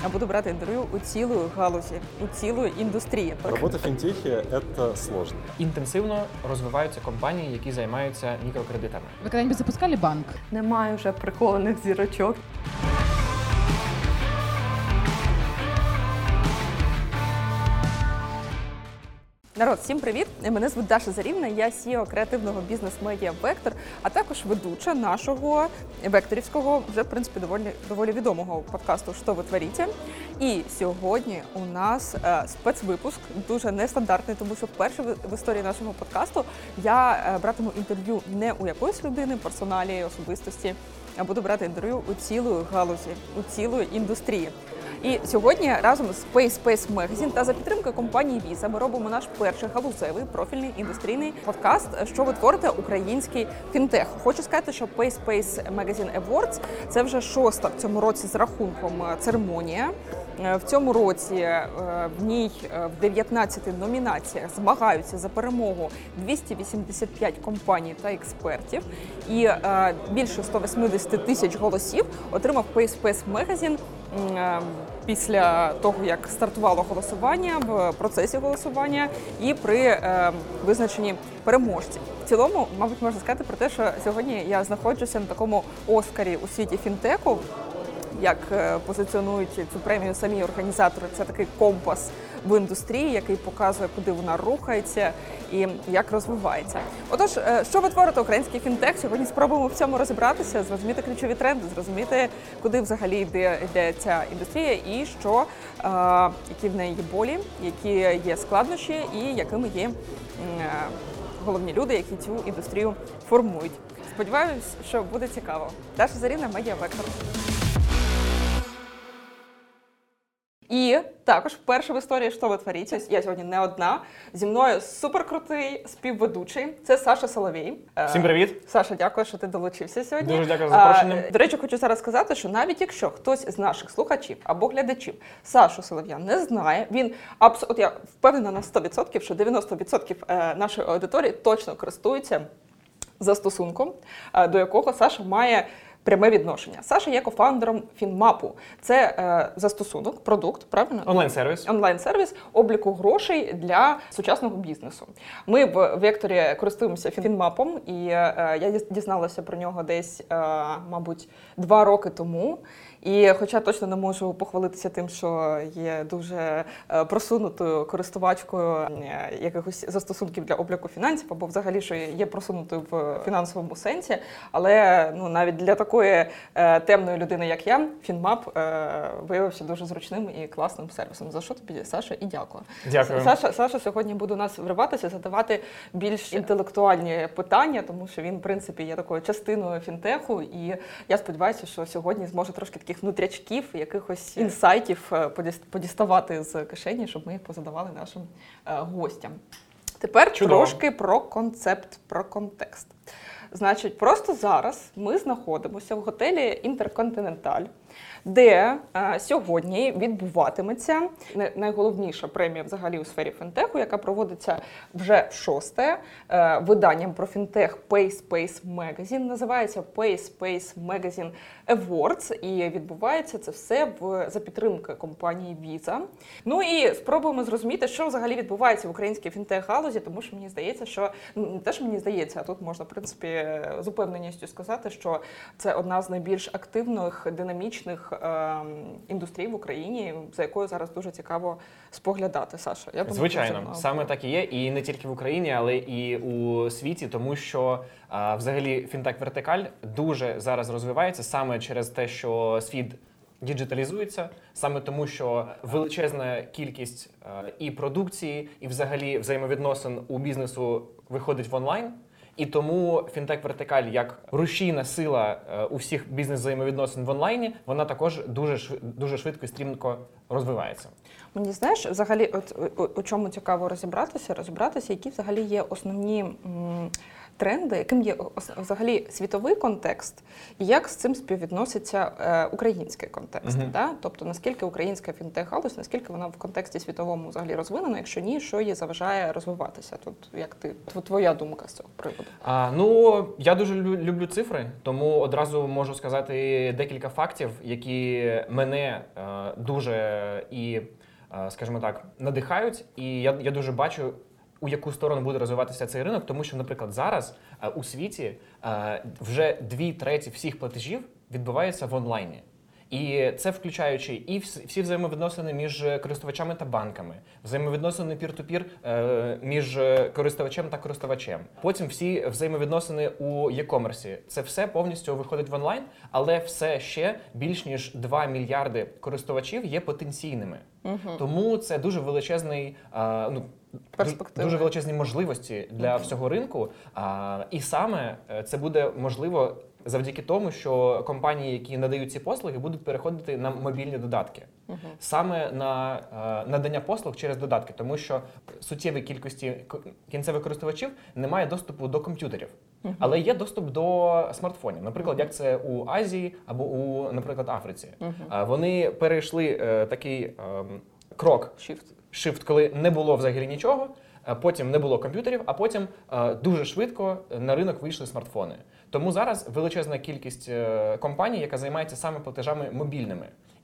буду брать интервью у цілої галузі, у цілої індустрії. Работа в финтехе – это сложно. Інтенсивно розвиваються компанії, які займаються мікрокредитами. Вы когда-нибудь запускали банк? Немає вже прихованих зірочок. Народ, всім привіт! Мене звуть Даша Зарівна, я CEO креативного бізнес-медіа «Вектор», а також ведуча нашого векторівського, вже, в принципі, доволі відомого подкасту «Що ви творите?». І сьогодні у нас спецвипуск, дуже нестандартний, тому що вперше в історії нашого подкасту я братиму інтерв'ю не у якоїсь людини, персоналі, особистості, а буду брати інтерв'ю у цілої галузі, у цілої індустрії. І сьогодні разом з PaySpace Magazine та за підтримки компанії Visa ми робимо наш перший галузевий профільний індустрійний подкаст «Що ви творите? Український фінтех». Хочу сказати, що PaySpace Magazine Awards – це вже шоста в цьому році з рахунком церемонія. В цьому році в ній в 19 номінаціях змагаються за перемогу 285 компаній та експертів. І більше 180 тисяч голосів отримав PaySpace Magazine після того, як стартувало голосування, в процесі голосування і при визначенні переможців. В цілому, мабуть, можна сказати про те, що сьогодні я знаходжуся на такому Оскарі у світі фінтеху, як позиціонують цю премію самі організатори. Це такий компас в індустрії, який показує, куди вона рухається і як розвивається. Отож, що ви творите український фінтех? Сьогодні спробуємо в цьому розібратися, зрозуміти ключові тренди, зрозуміти, куди взагалі йде ця індустрія і що, які в неї є болі, які є складнощі і якими є головні люди, які цю індустрію формують. Сподіваюсь, що буде цікаво. Даша Зарівна, медіа «Вектор». І також вперше в історії «Що ви творите?» я сьогодні не одна. Зі мною суперкрутий співведучий. Це Саша Соловій. Всім привіт! Саша, дякую, що ти долучився сьогодні. Дуже дякую за запрошення. До речі, хочу зараз сказати, що навіть якщо хтось з наших слухачів або глядачів Сашу Солов'я не знає, він от я впевнена на 100%, що 90% нашої аудиторії точно користуються застосунком, до якого Саша має пряме відношення. Саша є кофаундером Фінмапу. Це застосунок, продукт, правильно? Онлайн-сервіс. Онлайн-сервіс обліку грошей для сучасного бізнесу. Ми в Векторі користуємося Фінмапом, і я дізналася про нього десь, мабуть, 2 роки тому. І хоча точно не можу похвалитися тим, що є дуже просунутою користувачкою якихось застосунків для обліку фінансів, або взагалі, що є просунутою в фінансовому сенсі, але навіть для такої темної людини, як я, Фінмап виявився дуже зручним і класним сервісом. За що тобі, Саша, і дякую. Дякую. Саша сьогодні буде у нас вриватися, задавати більш інтелектуальні питання, тому що він, в принципі, є такою частиною фінтеху, і я сподіваюся, що сьогодні зможе трошки таких внутрячків, якихось інсайтів подіставати з кишені, щоб ми їх позадавали нашим гостям. Тепер трошки про концепт, про контекст. Значить, просто зараз ми знаходимося в готелі «Інтерконтиненталь», де сьогодні відбуватиметься найголовніша премія взагалі у сфері фінтеху, яка проводиться вже в 6-те виданням про фінтех PaySpace Magazine. Називається PaySpace Magazine Awards, і відбувається це все за підтримки компанії Visa. Ну і спробуємо зрозуміти, що взагалі відбувається в українській фінтех-галузі, тому що мені здається, що не те, що мені здається, а тут можна, в принципі, з упевненістю сказати, що це одна з найбільш активних, динамічних індустрій в Україні, за якою зараз дуже цікаво споглядати, Саша. Я думаю, звичайно, саме так і є. І не тільки в Україні, але і у світі, тому що взагалі фінтех-вертикаль дуже зараз розвивається саме через те, що світ діджиталізується, саме тому, що величезна кількість і продукції, і взагалі взаємовідносин у бізнесу виходить в онлайн. І тому фінтех-вертикаль як рушійна сила у всіх бізнес-взаємовідносин в онлайні, вона також дуже швидко і стрімко розвивається. Мені, знаєш, взагалі, у чому цікаво розібратися, які взагалі є основні тренди, яким є взагалі світовий контекст, і як з цим співвідноситься український контекст? Да? Тобто, наскільки українська фінтех-галузь, наскільки вона в контексті світовому взагалі розвинена, якщо ні, що їй заважає розвиватися? Тут як твоя думка з цього приводу? Я дуже люблю цифри, тому одразу можу сказати декілька фактів, які мене дуже скажімо так, надихають, і я дуже бачу, у яку сторону буде розвиватися цей ринок, тому що, наприклад, зараз у світі вже 2/3 всіх платежів відбуваються в онлайні. І це включаючи і всі взаємовідносини між користувачами та банками, взаємовідносини peer-to-peer між користувачем та користувачем. Потім всі взаємовідносини у e-commerce. Це все повністю виходить в онлайн, але все ще більш ніж 2 мільярди користувачів є потенційними. Тому це дуже величезний, дуже величезні можливості для всього ринку. І саме це буде можливо завдяки тому, що компанії, які надають ці послуги, будуть переходити на мобільні додатки. Саме на надання послуг через додатки, тому що суттєвій кількості кінцевих користувачів немає доступу до комп'ютерів, але є доступ до смартфонів. Наприклад, як це у Азії або у, наприклад, Африці. Вони перейшли такий крок, shift, коли не було взагалі нічого, потім не було комп'ютерів, а потім дуже швидко на ринок вийшли смартфони. Тому зараз величезна кількість компаній, яка займається саме платежами мобільними.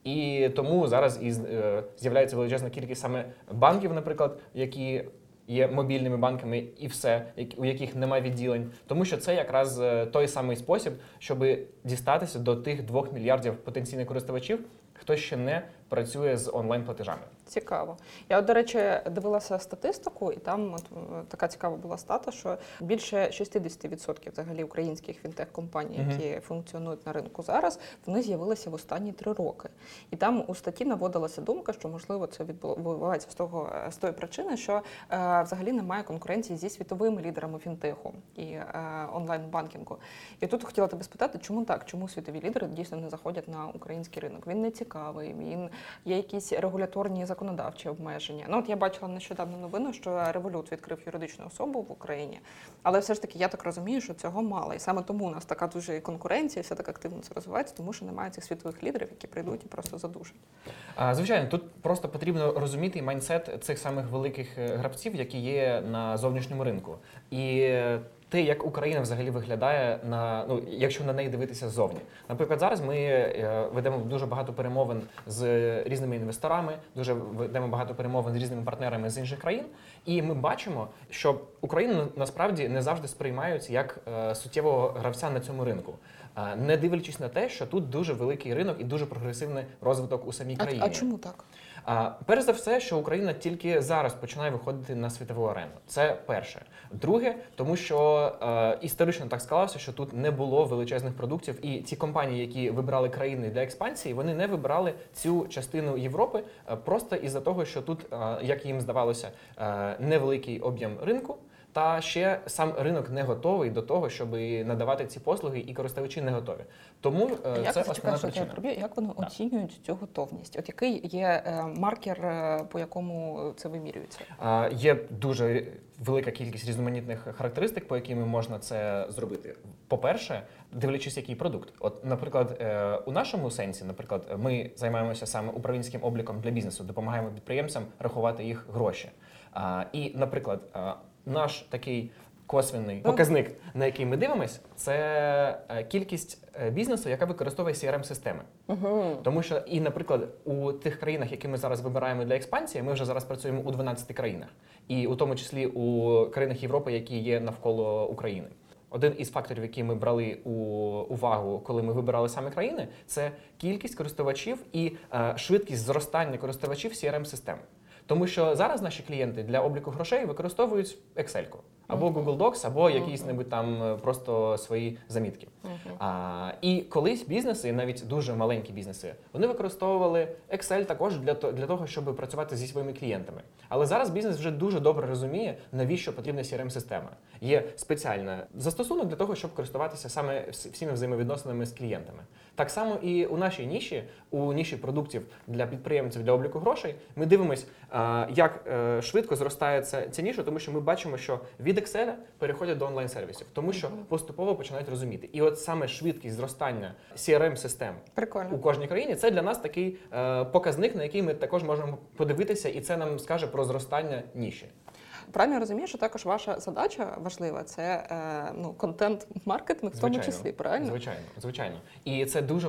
І тому зараз з'являється величезна кількість саме банків, наприклад, які є мобільними банками і все, у яких немає відділень. Тому що це якраз той самий спосіб, щоб дістатися до тих 2 мільярдів потенційних користувачів, хто ще не працює з онлайн-платежами. Цікаво. Я, до речі, дивилася статистику, і там така цікава була стата, що більше 60% взагалі українських фінтех-компаній, які функціонують на ринку зараз, вони з'явилися в останні 3 роки. І там у статті наводилася думка, що, можливо, це відбувається з тої причини, що взагалі немає конкуренції зі світовими лідерами фінтеху і онлайн-банкінгу. І тут хотіла тебе спитати, чому так? Чому світові лідери дійсно не заходять на український ринок? Він не цікавий, є якісь регуляторні законодавчі обмеження. От я бачила нещодавно новину, що Revolut відкрив юридичну особу в Україні, але все ж таки я так розумію, що цього мало. І саме тому у нас така дуже конкуренція, все так активно це розвивається, тому що немає цих світових лідерів, які прийдуть і просто задушать. Звичайно, тут просто потрібно розуміти майндсет цих самих великих гравців, які є на зовнішньому ринку. І те, як Україна взагалі виглядає, якщо на неї дивитися ззовні. Наприклад, зараз ми ведемо дуже багато перемовин з різними інвесторами, дуже ведемо багато перемовин з різними партнерами з інших країн, і ми бачимо, що Україну насправді не завжди сприймають як суттєвого гравця на цьому ринку. Не дивлячись на те, що тут дуже великий ринок і дуже прогресивний розвиток у самій країні. А чому так? Перш за все, що Україна тільки зараз починає виходити на світову арену. Це перше. Друге, тому що історично так склалося, що тут не було величезних продуктів, і ті компанії, які вибрали країни для експансії, вони не вибрали цю частину Європи просто із-за того, що тут, як їм здавалося, невеликий об'єм ринку, та ще сам ринок не готовий до того, щоб надавати ці послуги, і користувачі не готові. Тому це основна причина. Як вони оцінюють цю готовність? От який є маркер, по якому це вимірюється? Є дуже велика кількість різноманітних характеристик, по яким можна це зробити. По-перше, дивлячись, який продукт. От, наприклад, у нашому сенсі, ми займаємося саме управлінським обліком для бізнесу, допомагаємо підприємцям рахувати їх гроші. І, наприклад, наш такий косвенний показник, на який ми дивимося, це кількість бізнесу, яка використовує CRM-системи. Тому що, і, наприклад, у тих країнах, які ми зараз вибираємо для експансії, ми вже зараз працюємо у 12 країнах. І у тому числі у країнах Європи, які є навколо України. Один із факторів, які ми брали у увагу, коли ми вибирали саме країни, це кількість користувачів і швидкість зростання користувачів CRM-систем. Тому що зараз наші клієнти для обліку грошей використовують Excel-ку, або Google Docs, або якісь-небудь там просто свої замітки. І колись бізнеси, навіть дуже маленькі бізнеси, вони використовували Excel також для того, щоб працювати зі своїми клієнтами. Але зараз бізнес вже дуже добре розуміє, навіщо потрібна CRM-система. Є спеціальний застосунок для того, щоб користуватися саме всіми взаємовідносинами з клієнтами. Так само і у нашій ніші, у ніші продуктів для підприємців, для обліку грошей, ми дивимось, як швидко зростає ця ніша, тому що ми бачимо, що від від Excel переходять до онлайн-сервісів, тому що поступово починають розуміти. І от саме швидкість зростання CRM-систем Прикольно. у кожній країні, це для нас такий показник, на який ми також можемо подивитися, і це нам скаже про зростання ніші. Правильно розумію, що також ваша задача важлива – це контент-маркетинг в тому числі, правильно? Звичайно. І це дуже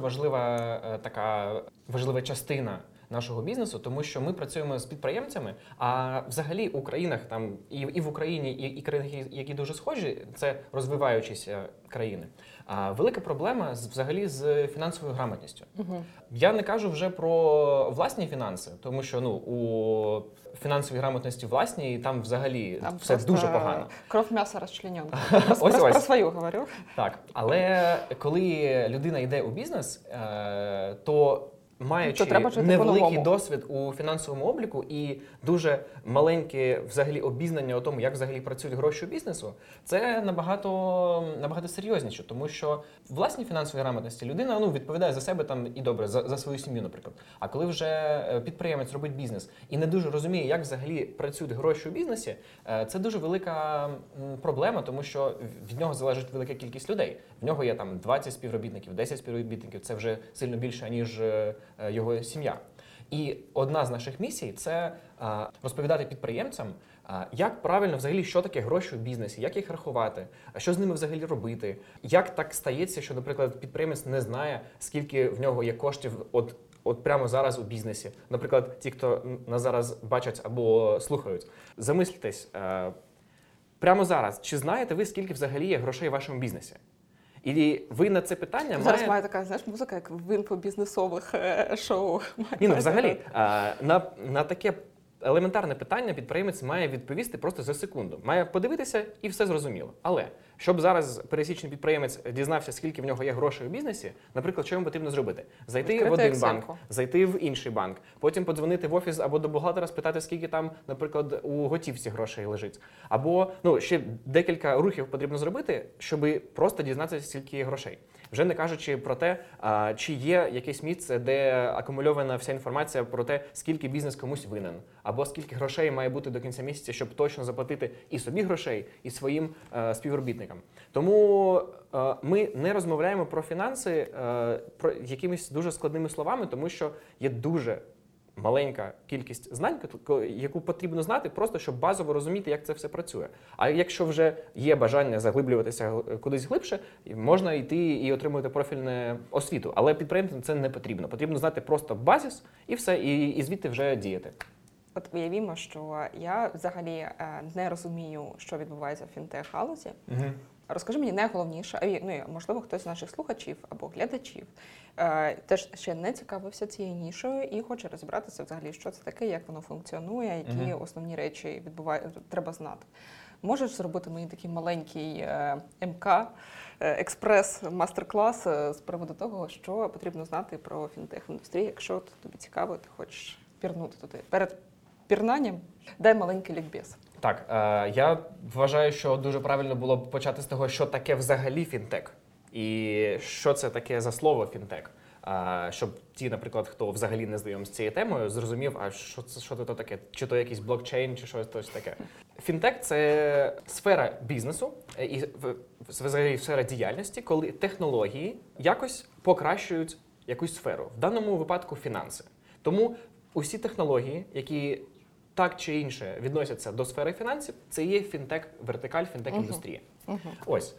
важлива частина нашого бізнесу, тому що ми працюємо з підприємцями, а взагалі у країнах там і в Україні, і країнах, які дуже схожі, це розвиваючіся країни. А велика проблема взагалі з фінансовою грамотністю. Я не кажу вже про власні фінанси, тому що у фінансовій грамотності власній там взагалі Там все дуже погано. Кров, м'ясо розчленено. Ось. Про свою говорю. Так, але коли людина йде у бізнес, то маючи треба жити невеликий по-новому. досвід у фінансовому обліку і дуже маленьке взагалі обізнання у тому, як взагалі працюють гроші у бізнесу, це набагато серйозніше, тому що в власній фінансовій грамотності людина відповідає за себе там і добре, за свою сім'ю, наприклад. А коли вже підприємець робить бізнес і не дуже розуміє, як взагалі працюють гроші у бізнесі, це дуже велика проблема, тому що від нього залежить велика кількість людей. В нього є там 20 співробітників, 10 співробітників, це вже сильно більше, ніж його сім'я. І одна з наших місій – це розповідати підприємцям, як правильно взагалі, що таке гроші у бізнесі, як їх рахувати, що з ними взагалі робити, як так стається, що, наприклад, підприємець не знає, скільки в нього є коштів от прямо зараз у бізнесі. Наприклад, ті, хто нас зараз бачать або слухають, замислітесь, прямо зараз, чи знаєте ви, скільки взагалі є грошей у вашому бізнесі? І ви на це питання Зараз має така, знаєш, музика, як в інфобізнесових шоу. Взагалі, на таке елементарне питання підприємець має відповісти просто за секунду. Має подивитися і все зрозуміло. Але, щоб зараз пересічний підприємець дізнався, скільки в нього є грошей у бізнесі, наприклад, що йому потрібно зробити? Зайти в один банк, зайти в інший банк, потім подзвонити в офіс або до бухгалтера, спитати, скільки там, наприклад, у готівці грошей лежить. Або, ще декілька рухів потрібно зробити, щоб просто дізнатися, скільки є грошей. Вже не кажучи про те, чи є якесь місце, де акумульована вся інформація про те, скільки бізнес комусь винен, або скільки грошей має бути до кінця місяця, щоб точно заплатити і собі грошей, і своїм співробітникам. Тому ми не розмовляємо про фінанси про якимись дуже складними словами, тому що є дуже маленька кількість знань, яку потрібно знати, просто щоб базово розуміти, як це все працює. А якщо вже є бажання заглиблюватися кудись глибше, можна йти і отримувати профільну освіту. Але підприємцям це не потрібно. Потрібно знати просто базис і все, і звідти вже діяти. От уявімо, що я взагалі не розумію, що відбувається в фінтех-галузі. Розкажи мені найголовніше, можливо, хтось з наших слухачів або глядачів теж ще не цікавився цією нішою і хоче розібратися взагалі, що це таке, як воно функціонує, які основні речі треба знати. Можеш зробити мені такий маленький МК, експрес, мастер-клас з приводу того, що потрібно знати про фінтех-індустрію, якщо тобі цікаво, ти хочеш пірнути туди. Перед пірнанням дай маленький лікбез. Так, я вважаю, що дуже правильно було б почати з того, що таке взагалі фінтек. І що це таке за слово фінтек. Щоб ті, наприклад, хто взагалі не знайомий з цією темою, зрозумів, а що це таке? Чи то якийсь блокчейн, чи щось таке. Фінтек – це сфера бізнесу і взагалі сфера діяльності, коли технології якось покращують якусь сферу. В даному випадку фінанси. Тому усі технології, які так чи інше відносяться до сфери фінансів, це є фінтек-вертикаль, фінтек-індустрія. Ось.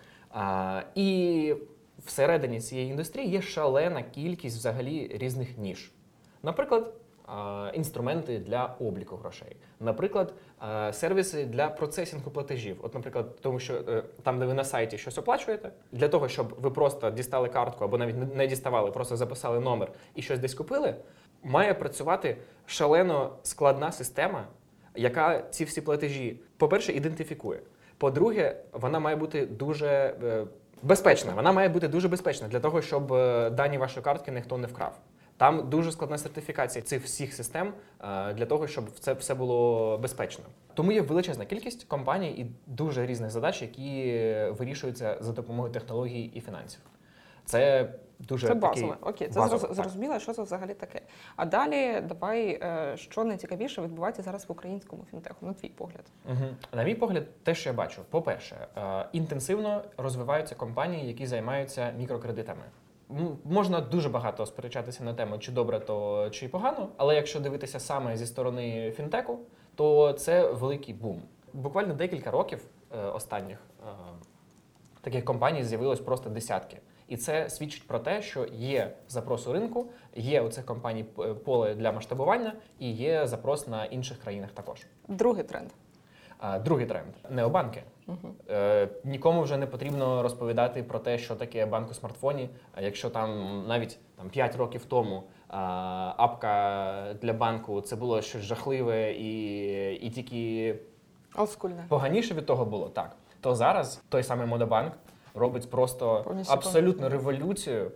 І всередині цієї індустрії є шалена кількість взагалі різних ніш. Наприклад, інструменти для обліку грошей. Наприклад, сервіси для процесінгу платежів. От, наприклад, тому що там, де ви на сайті щось оплачуєте, для того, щоб ви просто дістали картку або навіть не діставали, просто записали номер і щось десь купили, має працювати шалено складна система, яка ці всі платежі, по-перше, ідентифікує. По-друге, вона має бути дуже безпечна. Вона має бути дуже безпечна для того, щоб дані вашої картки ніхто не вкрав. Там дуже складна сертифікація цих всіх систем для того, щоб це все було безпечно. Тому є величезна кількість компаній і дуже різних задач, які вирішуються за допомогою технологій і фінансів. Це дуже Це такий базове. Окей, це базове, так. зрозуміло, що це взагалі таке. А далі давай, що найцікавіше відбувається зараз в українському фінтеху, на твій погляд. На мій погляд, те, що я бачу, по-перше, інтенсивно розвиваються компанії, які займаються мікрокредитами. Можна дуже багато сперечатися на тему, чи добре то, чи погано, але якщо дивитися саме зі сторони фінтеку, то це великий бум. Буквально декілька років останніх таких компаній з'явилось просто десятки. І це свідчить про те, що є запрос у ринку, є у цих компаній поле для масштабування і є запрос на інших країнах також. Другий тренд. Другий тренд – необанки. Нікому вже не потрібно розповідати про те, що таке банк у смартфоні. Якщо там навіть 5 років тому апка для банку – це було щось жахливе і тільки Олдскульне. поганіше від того було, так. То зараз той самий Модобанк робить просто Повністю абсолютну революцію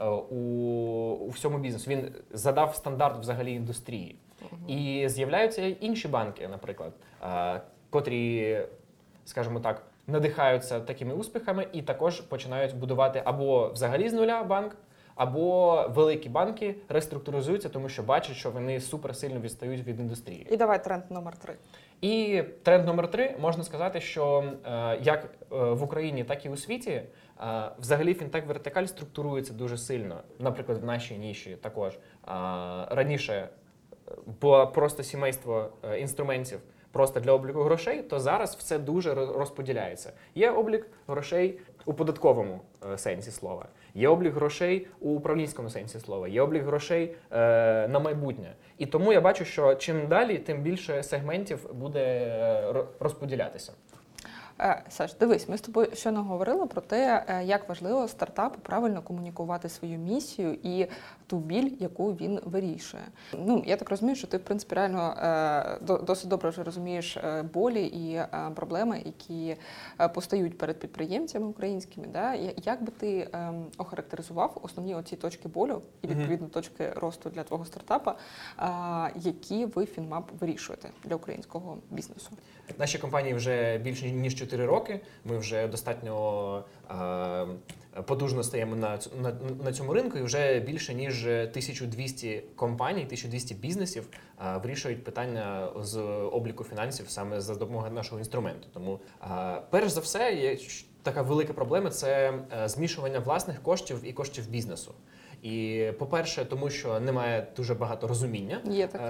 у всьому бізнесу. Він задав стандарт взагалі індустрії. І з'являються інші банки, наприклад, котрі, скажімо так, надихаються такими успіхами і також починають будувати або взагалі з нуля банк, або великі банки реструктуризуються, тому що бачать, що вони суперсильно відстають від індустрії. І давай тренд номер 3. І тренд номер 3, можна сказати, що як в Україні, так і у світі, взагалі фінтек-вертикаль структурується дуже сильно. Наприклад, в нашій ніші також. Раніше було просто сімейство інструментів просто для обліку грошей, то зараз все дуже розподіляється. Є облік грошей у податковому сенсі слова, є облік грошей у управлінському сенсі слова, є облік грошей на майбутнє. І тому я бачу, що чим далі, тим більше сегментів буде розподілятися. Саш, дивись, ми з тобою щойно говорили про те, як важливо стартапу правильно комунікувати свою місію і ту біль, яку він вирішує. Я так розумію, що ти, в принципі, реально досить добре вже розумієш болі і проблеми, які постають перед підприємцями українськими. Да? Як би ти охарактеризував основні оці точки болю і, відповідно, точки росту для твого стартапа, які ви, Фінмап, вирішуєте для українського бізнесу? Наші компанії вже більше ніж 4 роки. Ми вже достатньо потужно стаємо на цьому ринку, і вже більше ніж 1200 компаній, 1200 бізнесів вирішують питання з обліку фінансів саме за допомогою нашого інструменту. Тому, перш за все, є така велика проблема – це змішування власних коштів і коштів бізнесу. І, по-перше, тому що немає дуже багато розуміння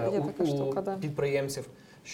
у підприємців,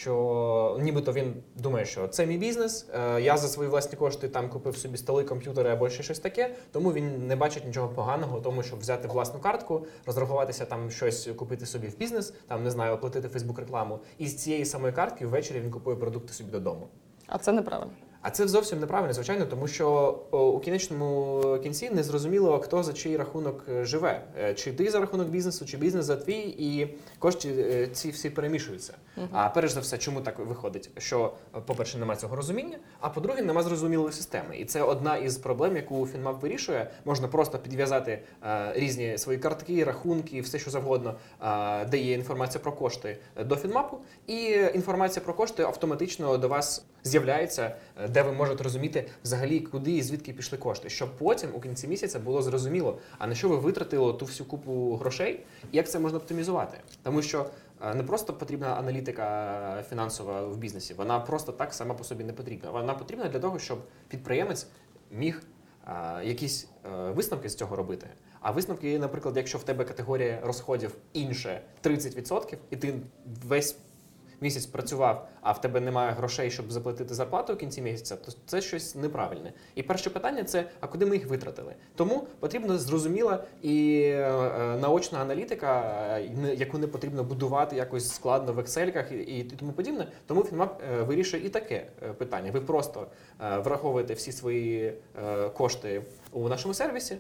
що нібито він думає, що це мій бізнес, я за свої власні кошти там купив собі столи, комп'ютери або ще щось таке, тому він не бачить нічого поганого в тому, щоб взяти власну картку, розрахуватися там щось, купити собі в бізнес, там, не знаю, оплатити Фейсбук-рекламу, і з цієї самої картки ввечері він купує продукти собі додому. А це неправильно. А це зовсім неправильно, звичайно, тому що у кінечному кінці не зрозуміло, хто за чий рахунок живе. Чи ти за рахунок бізнесу, чи бізнес за твій, і кошти ці всі перемішуються. А перш за все, чому так виходить? Що, по-перше, немає цього розуміння, а по-друге, немає зрозумілої системи. І це одна із проблем, яку Фінмап вирішує. Можна просто підв'язати різні свої картки, рахунки, все що завгодно, де є інформація про кошти до Фінмапу, і інформація про кошти автоматично до вас з'являється, де ви можете розуміти взагалі, куди і звідки пішли кошти, щоб потім у кінці місяця було зрозуміло, а на що ви витратили ту всю купу грошей, і як це можна оптимізувати. Тому що не просто потрібна аналітика фінансова в бізнесі, вона просто так сама по собі не потрібна. Вона потрібна для того, щоб підприємець міг якісь висновки з цього робити. А висновки, наприклад, якщо в тебе категорія розходів інше 30%, і ти весь місяць працював, а в тебе немає грошей, щоб заплатити зарплату в кінці місяця, то це щось неправильне. І перше питання – це, а куди ми їх витратили? Тому потрібна зрозуміла і наочна аналітика, яку не потрібно будувати якось складно в ексельках і тому подібне. Тому Фінмап вирішує і таке питання. Ви просто враховуєте всі свої кошти у нашому сервісі,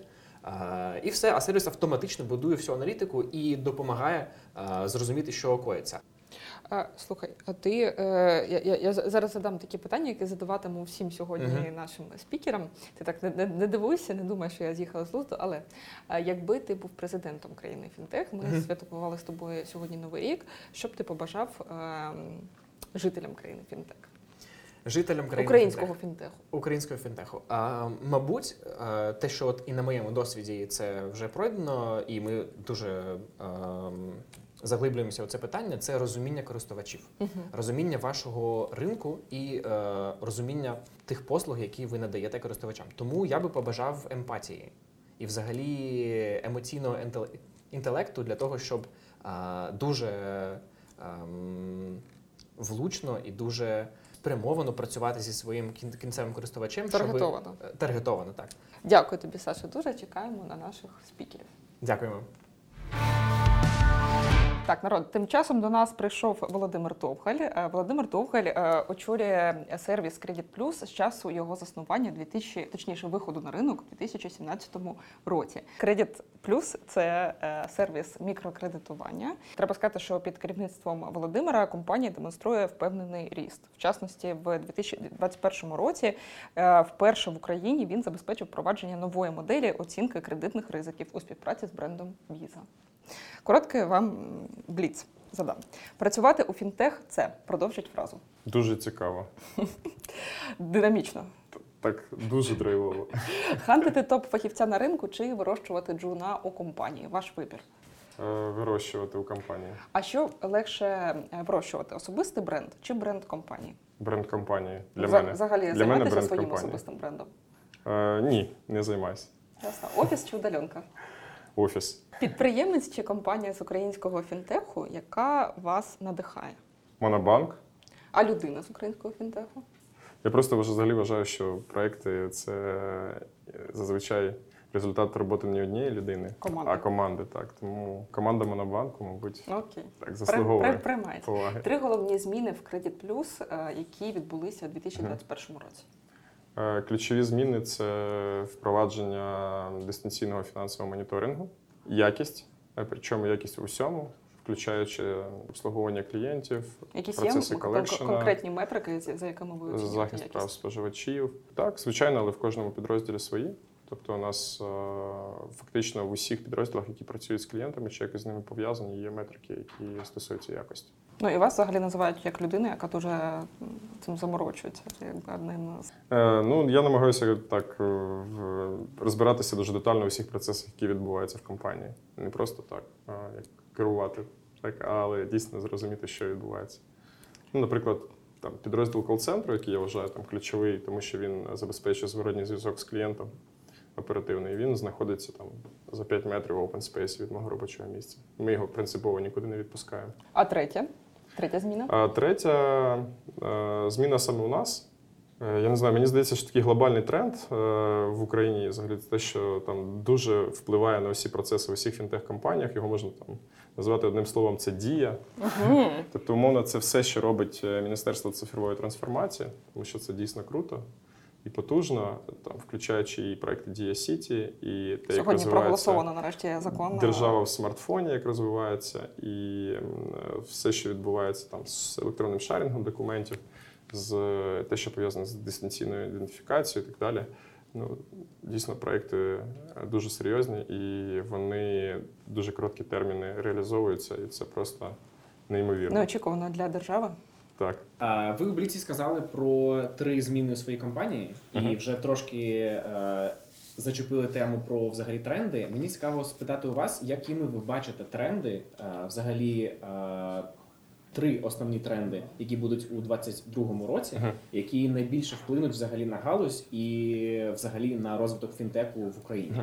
і все, а сервіс автоматично будує всю аналітику і допомагає зрозуміти, що коїться. Слухай, а ти, я зараз задам такі питання, які задаватиму всім сьогодні нашим спікерам. Ти так не дивуйся, не думай, що я з'їхала з глузду, але якби ти був президентом країни Фінтех, ми святкували з тобою сьогодні Новий рік, що б ти побажав жителям країни Фінтех? Жителям країни Українського фінтеху. Українського фінтеху. Мабуть, те, що от і на моєму досвіді це вже пройдено, і ми дуже заглиблюємося у це питання, це розуміння користувачів, розуміння вашого ринку і розуміння тих послуг, які ви надаєте користувачам. Тому я би побажав емпатії і взагалі емоційного інтелекту для того, щоб дуже влучно і дуже спрямовано працювати зі своїм кінцевим користувачем. Таргетовано. Таргетовано, так. Дякую тобі, Саша. Дуже чекаємо на наших спікерів. Дякуємо. Так, народ, тим часом до нас прийшов Володимир Довгаль. Володимир Довгаль очолює сервіс Credit Plus з часу його заснування, точніше, виходу на ринок у 2017 році. Credit Plus – це сервіс мікрокредитування. Треба сказати, що під керівництвом Володимира компанія демонструє впевнений ріст. В частності, в 2021 році вперше в Україні він забезпечив впровадження нової моделі оцінки кредитних ризиків у співпраці з брендом Visa. Короткий вам бліц задам. Працювати у фінтех – це, продовжіть фразу. Дуже цікаво. Динамічно. Так, дуже драйвово. Хантити топ-фахівця на ринку чи вирощувати джуна у компанії? Ваш вибір. Вирощувати у компанії. А що легше вирощувати? Особистий бренд чи бренд компанії? Бренд компанії для мене. Взагалі для мене займаєтеся бренд своїм компанії. особистим брендом? Ні, не займаюся. Ясно. Офіс чи удаленка? Офіс. Підприємець чи компанія з українського фінтеху, яка вас надихає? Монобанк. А людина з українського фінтеху? Я просто взагалі вважаю, що проекти – це зазвичай результат роботи не однієї людини, а команди. Так. Тому команда Монобанку, мабуть, так заслуговує поваги. 3 головні зміни в Credit Plus, які відбулися у 2021 році. Ключові зміни – це впровадження дистанційного фінансового моніторингу, якість, причому якість у всьому, включаючи обслуговування клієнтів, процеси колекшена, конкретні метрики, за якими ви оцінюєте захист якість? прав споживачів. Так, звичайно, але в кожному підрозділі свої. Тобто у нас фактично в усіх підрозділах, які працюють з клієнтами, чи якось з ними пов'язані, є метрики, які стосуються якості. Ну і вас взагалі називають як людину, яка дуже цим заморочується. Я намагаюся так розбиратися дуже детально у всіх процесах, які відбуваються в компанії. Не просто так, як керувати, так, але дійсно зрозуміти, що відбувається. Наприклад, там, підрозділ кол-центру, який я вважаю там, ключовий, тому що він забезпечує зворотній зв'язок з клієнтом оперативний. Він знаходиться там за 5 метрів в open space від мого робочого місця. Ми його принципово нікуди не відпускаємо. А третя? Третя зміна? Третя зміна саме у нас. Я не знаю, мені здається, що такий глобальний тренд в Україні взагалі те, що там дуже впливає на всі процеси в усіх фінтех-компаніях. Його можна там назвати одним словом, це дія. Тобто, умовно, це все, що робить Міністерство цифрової трансформації, тому що це дійсно круто і потужно, там, включаючи і проекти Дія Сіті, і те, як сьогодні проголосовано нарешті закон. Держава в смартфоні, як розвивається, і все, що відбувається там з електронним шарінгом документів, з те, що пов'язане з дистанційною ідентифікацією і так далі. Дійсно, проекти дуже серйозні і вони дуже короткі терміни реалізовуються, і це просто неймовірно. Неочікувано для держави. Так. Ви у Бліці сказали про 3 зміни у своїй компанії і вже трошки зачепили тему про взагалі тренди. Мені цікаво спитати у вас, якими ви бачите тренди, взагалі 3 основні тренди, які будуть у 2022 році, які найбільше вплинуть взагалі на галузь і взагалі на розвиток фінтеку в Україні.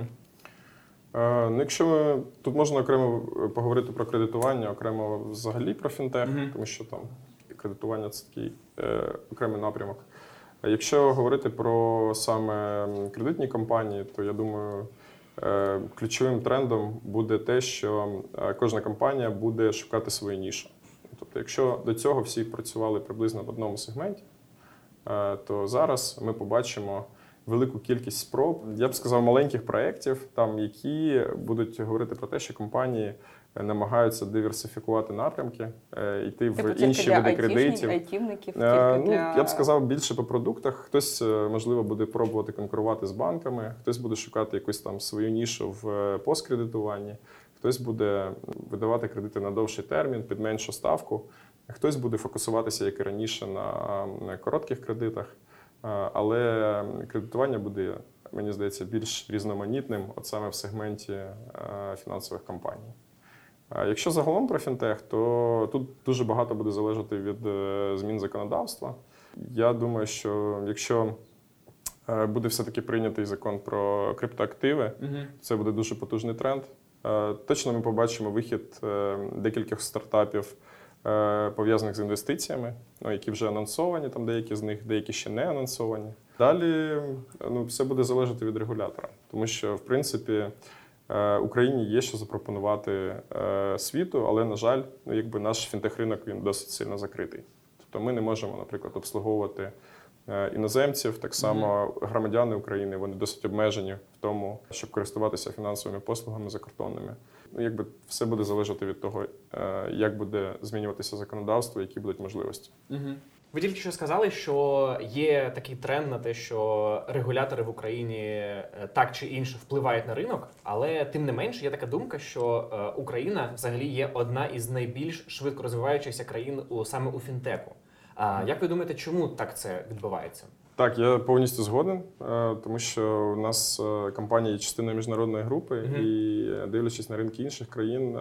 Якщо ми тут можна окремо поговорити про кредитування, окремо взагалі про фінтех, тому що там кредитування – це такий окремий напрямок. А якщо говорити про саме кредитні компанії, то я думаю, ключовим трендом буде те, що кожна компанія буде шукати свою нішу. Тобто, якщо до цього всі працювали приблизно в одному сегменті, то зараз ми побачимо велику кількість спроб, я б сказав, маленьких проєктів, там, які будуть говорити про те, що компанії намагаються диверсифікувати напрямки, йти в інші види кредитів. Я б сказав, більше по продуктах. Хтось, можливо, буде пробувати конкурувати з банками, хтось буде шукати якусь там свою нішу в посткредитуванні, хтось буде видавати кредити на довший термін, під меншу ставку. Хтось буде фокусуватися, як і раніше, на коротких кредитах, але кредитування буде, мені здається, більш різноманітним, от саме в сегменті фінансових компаній. Якщо загалом про фінтех, то тут дуже багато буде залежати від змін законодавства. Я думаю, що якщо буде все-таки прийнятий закон про криптоактиви, це буде дуже потужний тренд. Точно ми побачимо вихід декількох стартапів, пов'язаних з інвестиціями, які вже анонсовані, там деякі з них, деякі ще не анонсовані. Далі все буде залежати від регулятора, тому що, в принципі, Україні є що запропонувати світу, але, на жаль, наш фінтех-ринок він досить сильно закритий. Тобто ми не можемо, наприклад, обслуговувати іноземців, так само громадяни України, вони досить обмежені в тому, щоб користуватися фінансовими послугами закордонними. Все буде залежати від того, як буде змінюватися законодавство, які будуть можливості. Ви тільки що сказали, що є такий тренд на те, що регулятори в Україні так чи інше впливають на ринок, але тим не менше є така думка, що Україна взагалі є одна із найбільш швидко розвиваючихся країн саме у фінтеху. Як ви думаєте, чому так це відбувається? Так, я повністю згоден, тому що у нас компанія є частиною міжнародної групи, і дивлячись на ринки інших країн,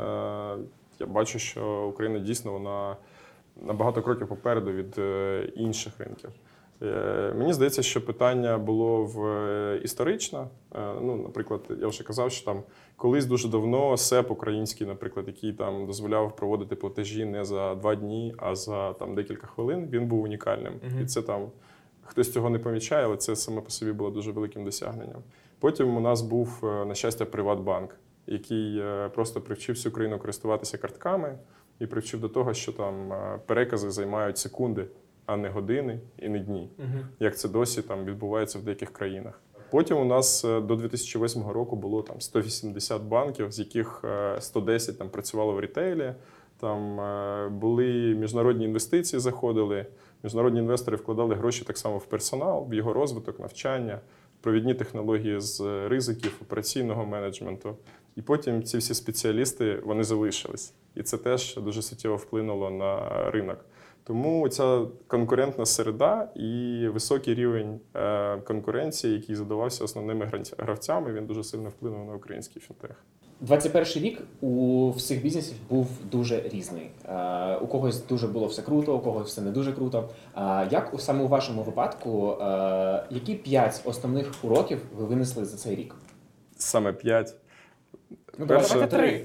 я бачу, що Україна дійсно вона на багато кроків попереду від інших ринків. Мені здається, що питання було історично. Наприклад, я вже казав, що там колись дуже давно СЕП український, наприклад, який там дозволяв проводити платежі не за 2 дні, а за декілька хвилин, він був унікальним. І це хтось цього не помічає, але це саме по собі було дуже великим досягненням. Потім у нас був, на щастя, Приватбанк, який просто привчив всю країну користуватися картками і привчив до того, що там перекази займають секунди, а не години і не дні, як це досі відбувається в деяких країнах. Потім у нас до 2008 року було 180 банків, з яких 110 працювало в рітейлі. Там були міжнародні інвестиції, заходили, міжнародні інвестори вкладали гроші так само в персонал, в його розвиток, навчання, провідні технології з ризиків, операційного менеджменту. І потім ці всі спеціалісти, вони залишились. І це теж дуже суттєво вплинуло на ринок. Тому ця конкурентна середа і високий рівень конкуренції, який задавався основними гравцями, він дуже сильно вплинув на український фінтех. 21-й рік у всіх бізнесів був дуже різний. У когось дуже було все круто, у когось все не дуже круто. Як саме у вашому випадку, які 5 основних уроків ви винесли за цей рік? Саме 5? Давайте 3.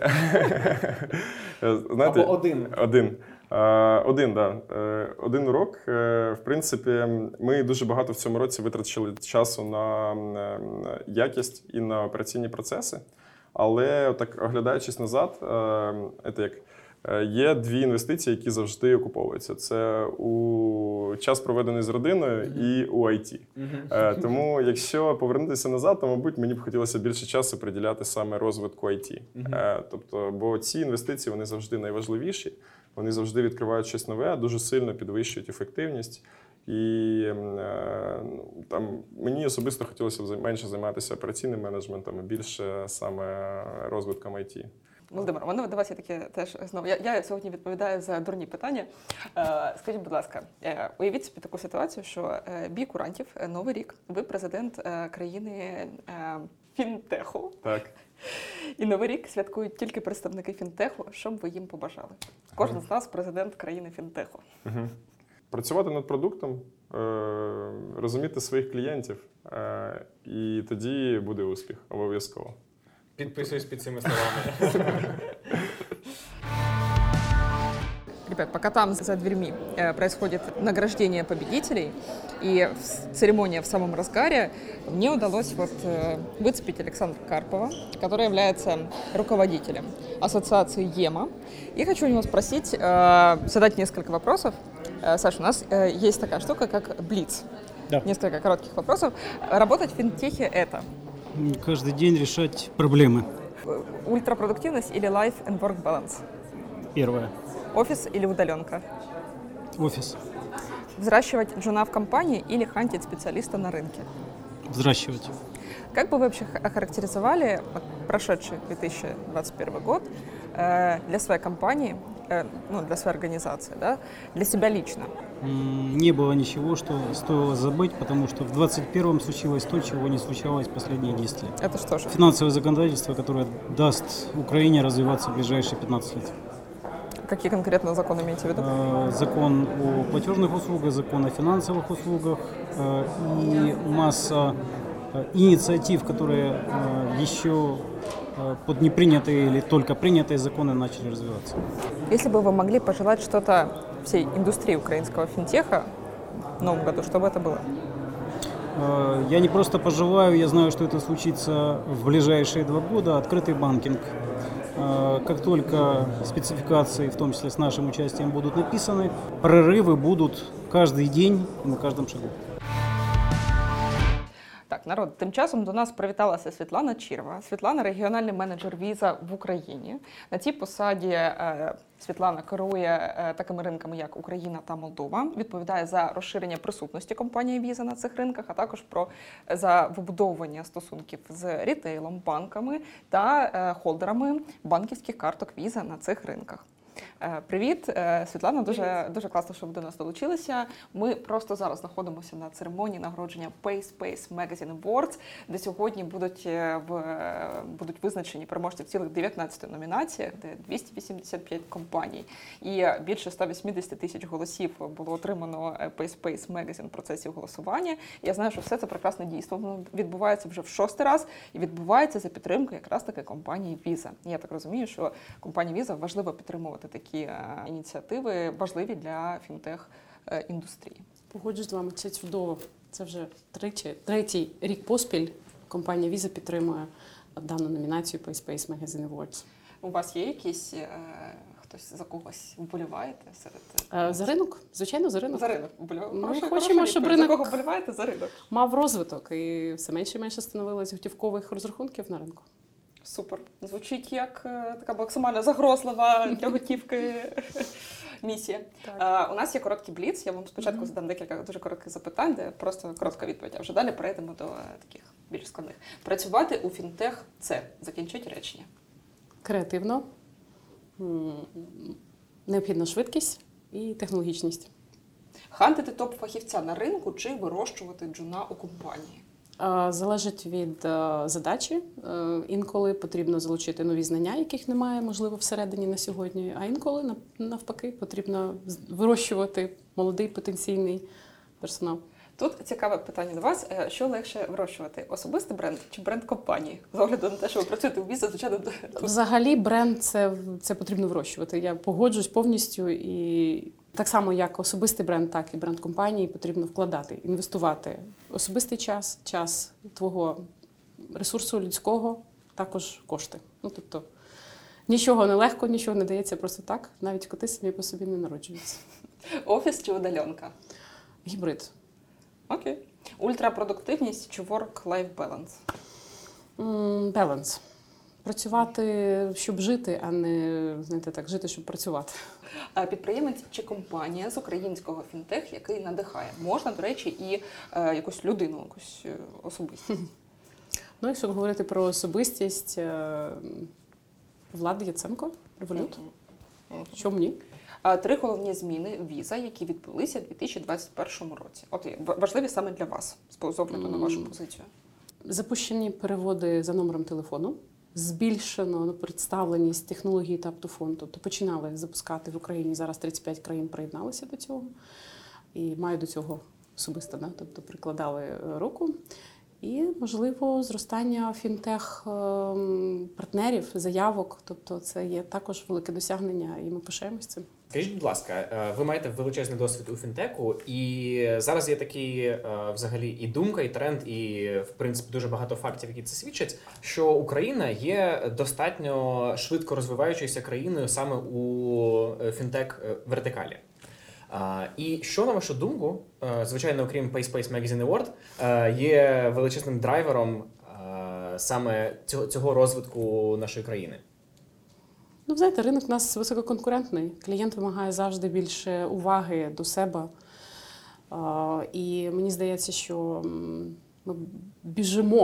Знаєте, або 1. Один урок. В принципі, ми дуже багато в цьому році витрачили часу на якість і на операційні процеси. Але так, оглядаючись назад, є 2 інвестиції, які завжди окуповуються. Це у час, проведений з родиною, і у IT. Тому, якщо повернутися назад, то, мабуть, мені б хотілося більше часу приділяти саме розвитку IT. Бо ці інвестиції, вони завжди найважливіші, вони завжди відкривають щось нове, дуже сильно підвищують ефективність. І мені особисто хотілося б менше займатися операційним менеджментом, і більше саме розвитком IT. Володимир, у мене до вас є таке теж знову. Я сьогодні відповідаю за дурні питання. Скажіть, будь ласка, уявіть собі таку ситуацію, що бій курантів, Новий рік, ви президент країни фінтеху. Так. І Новий рік святкують тільки представники фінтеху. Що б ви їм побажали? Кожен з нас президент країни фінтеху. Працювати над продуктом, розуміти своїх клієнтів, і тоді буде успіх, обов'язково. Підписуюсь під цими словами. Ребят, пока там за дверьми происходит награждение победителей и церемония в самом разгаре, мне удалось выцепить Александра Карпова, который является руководителем ассоциации ЕМА. И хочу у него спросить, задать несколько вопросов. Саша, у нас есть такая штука, как Блиц. Да. Несколько коротких вопросов. Работать в финтехе — это? Каждый день решать проблемы. Ультрапродуктивность или life and work balance? Первое. Офис или удаленка? Офис. Взращивать джуна в компании или хантить специалиста на рынке? Взращивать. Как бы вы вообще охарактеризовали прошедший 2021 год для своей компании для своей организации, да? Для себя лично? Не было ничего, что стоило забыть, потому что в 21-м случилось то, чего не случалось последние 10 лет. Это что же? Финансовое законодательство, которое даст Украине развиваться в ближайшие 15 лет. Какие конкретно законы имеете в виду? Закон о платежных услугах, закон о финансовых услугах и масса инициатив, которые еще под непринятые или только принятые законы начали развиваться. Если бы вы могли пожелать что-то всей индустрии украинского финтеха в новом году, что бы это было? Я не просто пожелаю, я знаю, что это случится в ближайшие 2 года. Открытый банкинг. Как только спецификации, в том числе с нашим участием, будут написаны, прорывы будут каждый день и на каждом шагу. Так, народ, тим часом до нас привіталася Світлана Чірва. Світлана – регіональний менеджер віза в Україні. На цій посаді Світлана керує такими ринками, як Україна та Молдова, відповідає за розширення присутності компанії віза на цих ринках, а також за вибудовування стосунків з рітейлом, банками та холдерами банківських карток віза на цих ринках. Привіт, Світлана, дуже класно, що ви до нас долучилися. Ми просто зараз знаходимося на церемонії нагородження PaySpace Magazine Awards, де сьогодні будуть визначені переможці в цілих 19 номінаціях, де 285 компаній і більше 180 тисяч голосів було отримано PaySpace Magazine в процесі голосування. Я знаю, що все це прекрасне дійство. Воно відбувається вже в 6-й раз і відбувається за підтримки якраз таки компанії Visa. Я так розумію, що компанії Visa важливо підтримувати такі ініціативи, важливі для фінтех-індустрії. Погоджуюсь з вами, це чудово. Це вже третій рік поспіль компанія Visa підтримує дану номінацію PaySpace Magazine Awards. У вас є якісь, хтось за когось вболіваєте серед? За ринок? Звичайно, за ринок. За ринок вболіваєте? Ми хочемо, щоб ринок За кого вболіваєте? За ринок. Мав розвиток і все менше і менше становилось готівкових розрахунків на ринку. Супер. Звучить як така максимально загрозлива для готівки місія. У нас є короткий бліц. Я вам спочатку задам декілька дуже коротких запитань, де просто коротка відповідь, а вже далі перейдемо до таких більш складних. Працювати у фінтех – це, закінчіть речення. Креативно, необхідна швидкість і технологічність. Хантити топ-фахівця на ринку чи вирощувати джуна у компанії? Залежить від задачі. Інколи потрібно залучити нові знання, яких немає, можливо, всередині на сьогодні, а інколи, навпаки, потрібно вирощувати молодий потенційний персонал. Тут цікаве питання до вас. Що легше вирощувати? Особистий бренд чи бренд компанії? З огляду на те, що ви працюєте у Visa, звичайно... Взагалі бренд це потрібно вирощувати. Я погоджуюсь повністю. І так само, як особистий бренд, так і бренд компанії потрібно вкладати, інвестувати. Особистий час твого ресурсу людського, також кошти. Тобто нічого не легко, нічого не дається просто так. Навіть коти самі по собі не народжуються. Офіс чи удаленка? Гібрид. Окей. Ультрапродуктивність чи work-life balance? Баланс. Працювати, щоб жити, а не, жити, щоб працювати. Підприємець чи компанія з українського фінтех, який надихає? Можна, до речі, і якусь людину, якусь особистість. Якщо говорити про особистість, Влад Яценко, Револют. Чому ні? 3 головні зміни віза, які відбулися у 2021 році. От важливі саме для вас, з огляду на вашу позицію. Запущені переводи за номером телефону. Збільшено представленість технології Tap-to-Phone. Тобто починали запускати в Україні, зараз 35 країн приєдналися до цього. І мають до цього особисто, тобто прикладали руку. І, можливо, зростання фінтех-партнерів, заявок. Тобто це є також велике досягнення, і ми пишаємось цим. Скажіть, будь ласка, ви маєте величезний досвід у фінтеку, і зараз є такий взагалі і думка, і тренд, і, в принципі, дуже багато фактів, які це свідчать, що Україна є достатньо швидко розвиваючоюся країною саме у фінтек-вертикалі. І що, на вашу думку, звичайно, окрім PaySpace Magazine Award, є величезним драйвером саме цього розвитку нашої країни? Знаєте, ринок у нас висококонкурентний. Клієнт вимагає завжди більше уваги до себе. І мені здається, що ми біжимо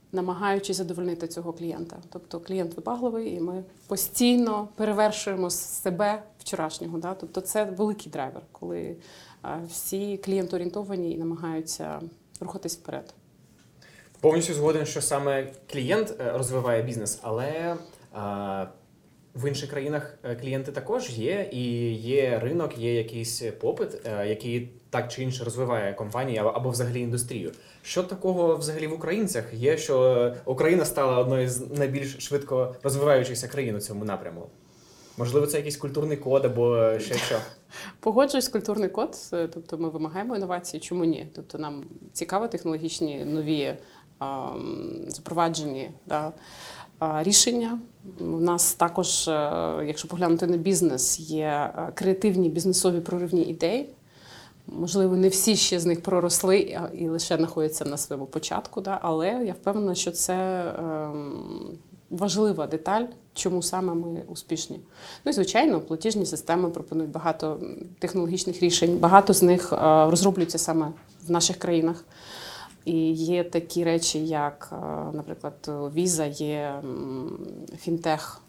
намагаючись задовольнити цього клієнта. Тобто клієнт вибагливий, і ми постійно перевершуємо себе вчорашнього. Да? Тобто це великий драйвер, коли всі клієнт-орієнтовані і намагаються рухатись вперед. Повністю згоден, що саме клієнт розвиває бізнес, але в інших країнах клієнти також є, і є ринок, є якийсь попит, який так чи інше розвиває компанії або взагалі індустрію. Що такого взагалі в українцях є, що Україна стала одною з найбільш швидко розвиваючихся країн у цьому напряму? Можливо, це якийсь культурний код або ще що? Погоджуюсь, культурний код, тобто ми вимагаємо інновації, чому ні? Тобто нам цікаво технологічні нові запроваджені рішення. У нас також, якщо поглянути на бізнес, є креативні бізнесові проривні ідеї. Можливо, не всі ще з них проросли і лише знаходяться на своєму початку, але я впевнена, що це важлива деталь, чому саме ми успішні. Ну і, звичайно, платіжні системи пропонують багато технологічних рішень. Багато з них розроблюються саме в наших країнах. І є такі речі, як, наприклад, Visa, є фінтех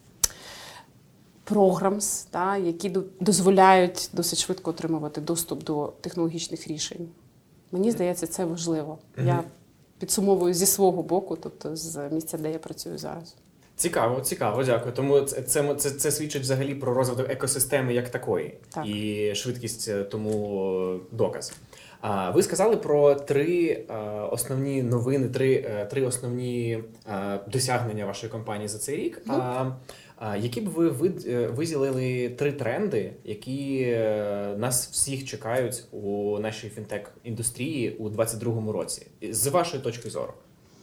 програмс, які дозволяють досить швидко отримувати доступ до технологічних рішень. Мені здається, це важливо. Я підсумовую зі свого боку, тобто з місця, де я працюю зараз. Цікаво, дякую. Тому це свідчить взагалі про розвиток екосистеми як такої. Так. І швидкість тому доказ. Ви сказали про 3 основні новини, 3 основні досягнення вашої компанії за цей рік. Які б ви виділили 3 тренди, які нас всіх чекають у нашій фінтек-індустрії у 2022 році, з вашої точки зору?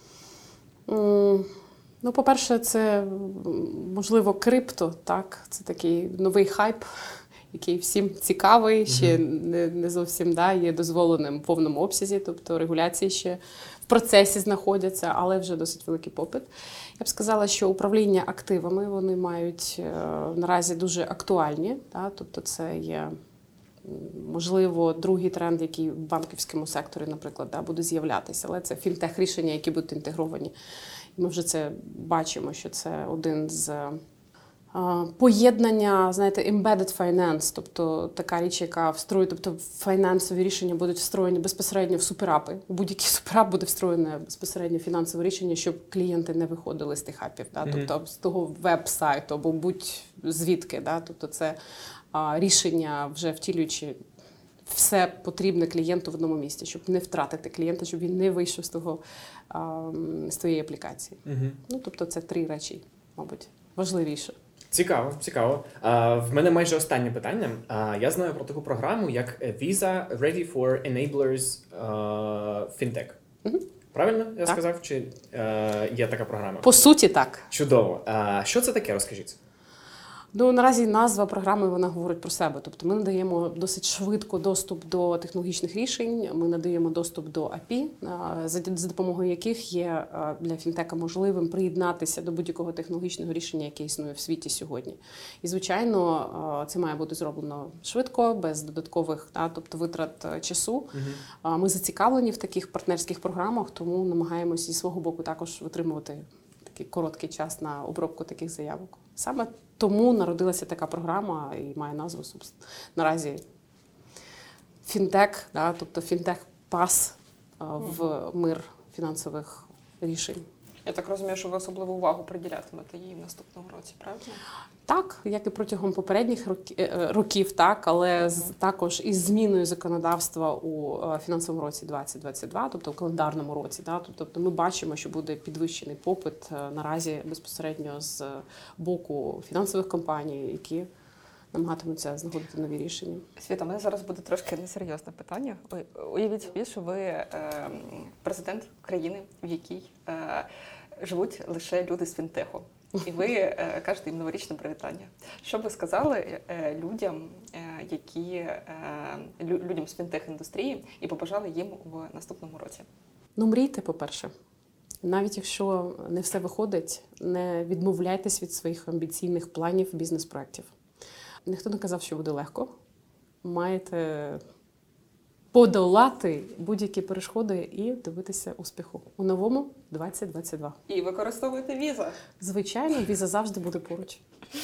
Ну, по-перше, це, можливо, крипто, так? Це такий новий хайп, який всім цікавий, ще не зовсім є дозволеним в повному обсязі, тобто регуляції ще в процесі знаходяться, але вже досить великий попит. Я б сказала, що управління активами, вони мають наразі дуже актуальні, тобто це є, можливо, другий тренд, який в банківському секторі, наприклад, буде з'являтися, але це фінтех-рішення, які будуть інтегровані. І ми вже це бачимо, що це один з поєднання, знаєте, embedded finance, тобто така річ, яка встроює, тобто фінансові рішення будуть встроєні безпосередньо в суперапи. У будь-який суперап буде встроєне безпосередньо фінансове рішення, щоб клієнти не виходили з тих апів, тобто з того веб-сайту або будь-звідки. Тобто це рішення вже втілюючи все потрібне клієнту в одному місці, щоб не втратити клієнта, щоб він не вийшов з тієї аплікації. Ну, тобто це 3 речі, мабуть, важливіше. Цікаво. В мене майже останнє питання. Я знаю про таку програму, як Visa Ready for Enablers Fintech. Правильно я сказав? Чи є така програма? По суті, так. Чудово. Що це таке, розкажіть? Ну, наразі назва програми, вона говорить про себе. Тобто ми надаємо досить швидко доступ до технологічних рішень, ми надаємо доступ до API, за допомогою яких є для фінтека можливим приєднатися до будь-якого технологічного рішення, яке існує в світі сьогодні. І, звичайно, це має бути зроблено швидко, без додаткових тобто витрат часу. Ми зацікавлені в таких партнерських програмах, тому намагаємося зі свого боку також витримувати такий короткий час на обробку таких заявок. Саме тому народилася така програма і має назву наразі фінтек, тобто фінтек-пас в мир фінансових рішень. Я так розумію, що ви особливу увагу приділятимете їй в наступному році, правильно? Так, як і протягом попередніх років, так, але також із зміною законодавства у фінансовому році 2022, тобто в календарному році. Тобто ми бачимо, що буде підвищений попит наразі безпосередньо з боку фінансових компаній, які намагатимуться знаходити нові рішення. Світа, у мене зараз буде трошки несерйозне питання. Уявіть собі, що ви президент країни, в якій живуть лише люди з фінтеху. І ви кажете їм новорічне привітання. Що б ви сказали людям з фінтех-індустрії і побажали їм в наступному році? Ну, мрійте, по-перше. Навіть якщо не все виходить, не відмовляйтесь від своїх амбіційних планів, бізнес-проєктів. Ніхто не казав, що буде легко. Маєте подолати будь-які перешкоди і добитися успіху у новому 2022. І використовуйте Visa. Звичайно, Visa завжди буде поруч.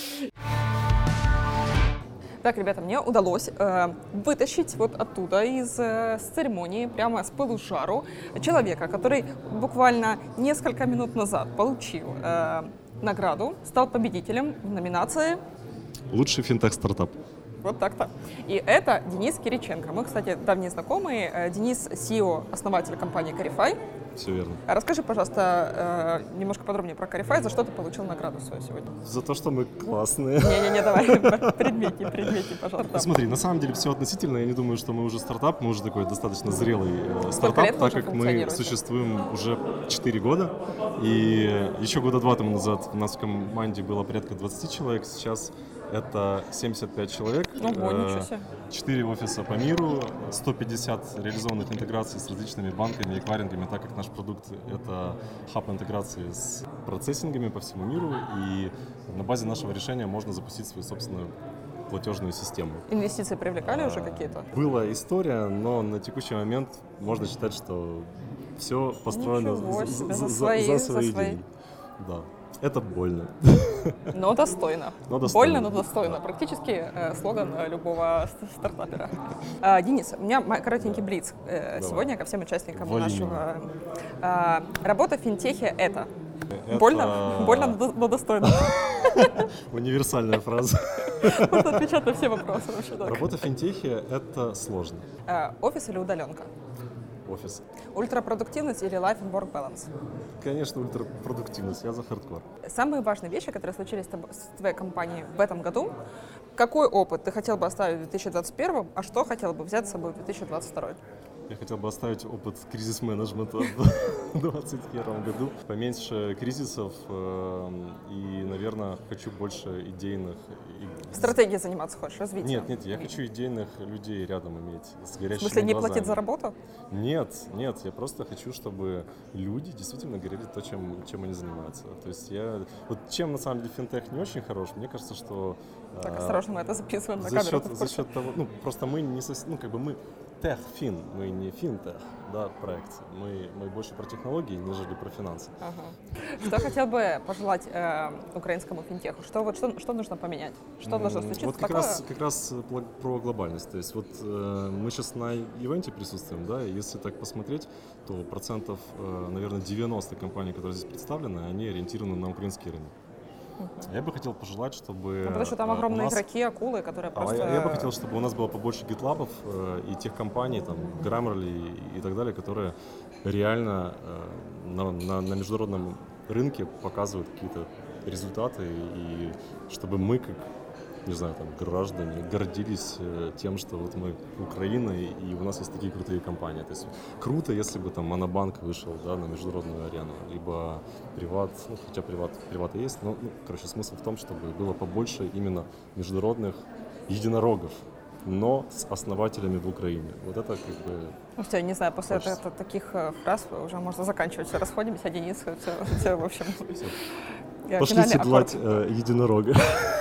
Так, ребята, мне удалось вытащить вот оттуда, с церемонии, прямо с пылу с жару, человека, который буквально несколько минут назад получил награду, стал победителем в номинации Лучший финтех-стартап. вот так-то. И это Денис Кириченко. Мы, кстати, давние знакомые. Денис – CEO, основатель компании Carify. Все верно. Расскажи, пожалуйста, немножко подробнее про Carify, за что ты получил награду свою сегодня. За то, что мы классные. Не-не-не, давай, предмети, пожалуйста. Смотри, на самом деле все относительно. Я не думаю, что мы уже стартап, мы уже такой достаточно зрелый лет стартап, вы так уже как мы функционируете? существуем уже 4 года. И еще года 2 тому назад у нас в команде было порядка 20 человек, сейчас это 75 человек. Ого, ничего себе. 4 офиса по миру, 150 реализованных интеграций с различными банками и эквайрингами, так как наш продукт — это хаб интеграции с процессингами по всему миру, и на базе нашего решения можно запустить свою собственную платежную систему. Инвестиции привлекали уже какие-то? Была история, но на текущий момент можно считать, что все построено Ничего себе, за за свои. свои деньги. Да. Это больно. Но достойно. Но достойно. Больно, но достойно. Практически слоган любого стартапера. Денис, у меня коротенький блиц сегодня ко всем участникам Вали нашего. Работа в финтехе — это? Это Больно, но достойно. универсальная фраза. Можно отвечать на все вопросы вообще так. Работа в финтехе — это сложно. Офис или удаленка? Офис. Ультрапродуктивность или life and work balance? Конечно, ультрапродуктивность. Я за хардкор. Самые важные вещи, которые случились с твоей компанией в этом году. Какой опыт ты хотел бы оставить в 2021, а что хотел бы взять с собой в 2022? Я хотел бы оставить опыт кризис-менеджмента в 2021 году. Поменьше кризисов и, наверное, хочу больше идейных. Стратегией заниматься хочешь, развитием? Нет, я хочу идейных людей рядом иметь, с горящими В смысле, не глазами. платить за работу? Нет, я просто хочу, чтобы люди действительно говорили то, чем они занимаются. То есть вот чем на самом деле финтех не очень хорош, мне кажется, что... Так, осторожно, мы это записываем на за камеру. счет того, просто мы не мы тех-фин, мы не финтех, да, проект. Мы больше про технологии, нежели про финансы. Ага. Что хотел бы пожелать украинскому финтеху? Что нужно поменять? Что должно случиться Вот такое? как раз про глобальность. То есть вот мы сейчас на ивенте присутствуем, да, и если так посмотреть, то процентов, наверное, 90 компаний, которые здесь представлены, они ориентированы на украинский рынок. Я бы хотел пожелать, чтобы... Потому что там огромные игроки, акулы, которые просто... Я бы хотел, чтобы у нас было побольше гитлабов и тех компаний, там, Grammarly и так далее, которые реально на международном рынке показывают какие-то результаты, и чтобы мы, как, не знаю, там, граждане, гордились тем, что вот мы Украина, и у нас есть такие крутые компании. То есть круто, если бы там Монобанк вышел, да, на международную арену, либо Приват, хотя Приват и есть, но, смысл в том, чтобы было побольше именно международных единорогов, но с основателями в Украине. Вот это как бы... Ну все, не знаю, после таких фраз уже можно заканчивать. Все, расходимся, Денис, все в общем... Пошли седлать единорога.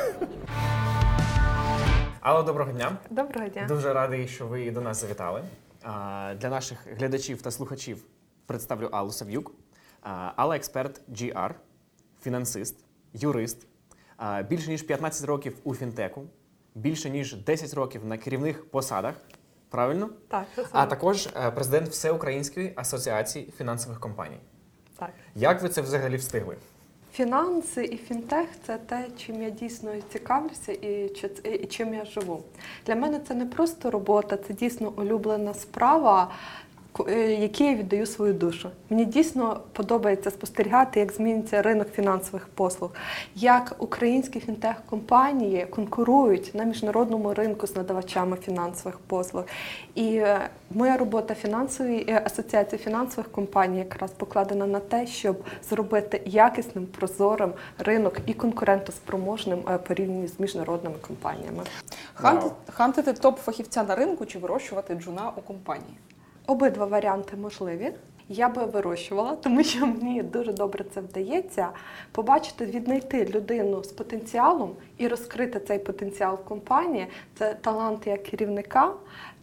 Алло, доброго дня. Доброго дня. Дуже радий, що ви до нас завітали. Для наших глядачів та слухачів представлю Аллу Сав'юк. Алла – експерт GR, фінансист, юрист, більше ніж 15 років у фінтеку, більше ніж 10 років на керівних посадах, правильно? Так, це А саме. також президент Всеукраїнської асоціації фінансових компаній. Так. Як ви це взагалі встигли? Фінанси і фінтех – це те, чим я дійсно цікавлюся і чим я живу. Для мене це не просто робота, це дійсно улюблена справа, якій я віддаю свою душу. Мені дійсно подобається спостерігати, як змінюється ринок фінансових послуг, як українські фінтех-компанії конкурують на міжнародному ринку з надавачами фінансових послуг. І моя робота фінансової асоціації фінансових компаній якраз покладена на те, щоб зробити якісним, прозорим ринок і конкурентоспроможним порівняно з міжнародними компаніями. Хантити топ-фахівця на ринку чи вирощувати джуна у компанії? Обидва варіанти можливі. Я би вирощувала, тому що мені дуже добре це вдається. Побачити, віднайти людину з потенціалом і розкрити цей потенціал в компанії – це талант як керівника,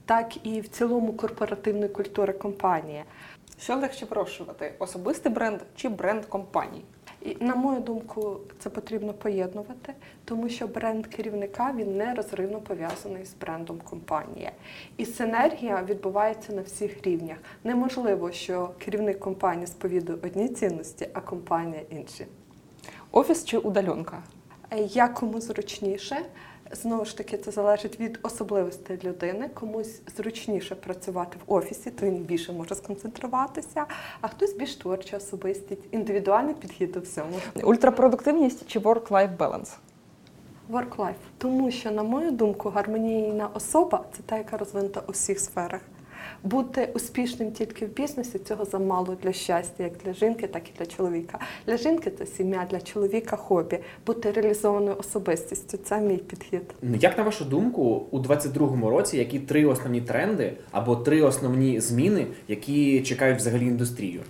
так і в цілому корпоративної культури компанії. Що легше вирощувати? Особистий бренд чи бренд компанії? І, на мою думку, це потрібно поєднувати, тому що бренд керівника, він нерозривно пов'язаний з брендом компанії. І синергія відбувається на всіх рівнях. Неможливо, що керівник компанії сповідує одні цінності, а компанія інші. Офіс чи удаленка? Як кому зручніше. Знову ж таки, це залежить від особливостей людини. Комусь зручніше працювати в офісі, то він більше може сконцентруватися, а хтось більш творча особистість, індивідуальний підхід до всьому. Ультрапродуктивність чи work-life balance? Work-life. Тому що, на мою думку, гармонійна особа – це та, яка розвинута у всіх сферах. Бути успішним тільки в бізнесі – цього замало для щастя, як для жінки, так і для чоловіка. Для жінки – це сім'я, для чоловіка – хобі. Бути реалізованою особистістю – це мій підхід. Як на вашу думку, у 2022 році які 3 основні тренди або 3 основні зміни, які чекають взагалі індустрію?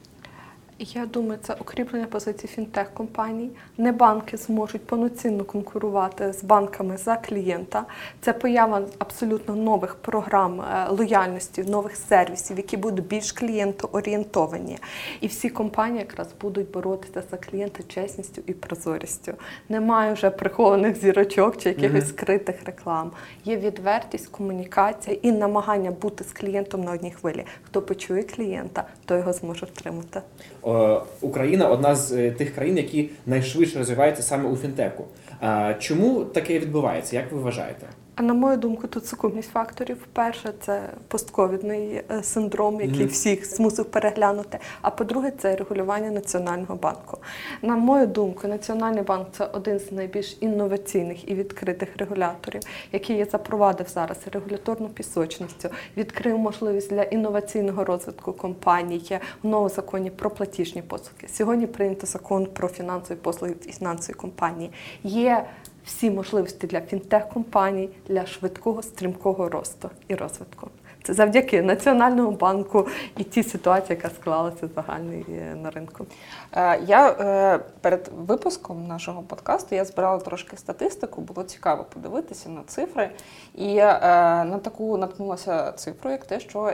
Я думаю, це укріплення позицій фінтех-компаній. Не банки зможуть повноцінно конкурувати з банками за клієнта. Це поява абсолютно нових програм лояльності, нових сервісів, які будуть більш клієнтоорієнтовані. І всі компанії якраз будуть боротися за клієнта чесністю і прозорістю. Немає вже прихованих зірочок чи якихось скритих реклам. Є відвертість, комунікація і намагання бути з клієнтом на одній хвилі. Хто почує клієнта, той його зможе втримати. Україна – одна з тих країн, які найшвидше розвиваються саме у фінтеку. Чому таке відбувається? Як ви вважаєте? А на мою думку, тут сукупність факторів. Перше, це постковідний синдром, який всіх змусив переглянути. А по-друге, це регулювання Національного банку. На мою думку, Національний банк – це один з найбільш інноваційних і відкритих регуляторів, який запровадив зараз регуляторну пісочницю, відкрив можливість для інноваційного розвитку компаній в новому законі про платіжні послуги. Сьогодні прийнято закон про фінансові послуги і фінансові компанії. Є всі можливості для фінтех-компаній, для швидкого, стрімкого росту і розвитку. Це завдяки Національному банку і тій ситуації, яка склалася загальної на ринку. Я перед випуском нашого подкасту я збирала трошки статистику, було цікаво подивитися на цифри. І на таку наткнулася цифру, як те, що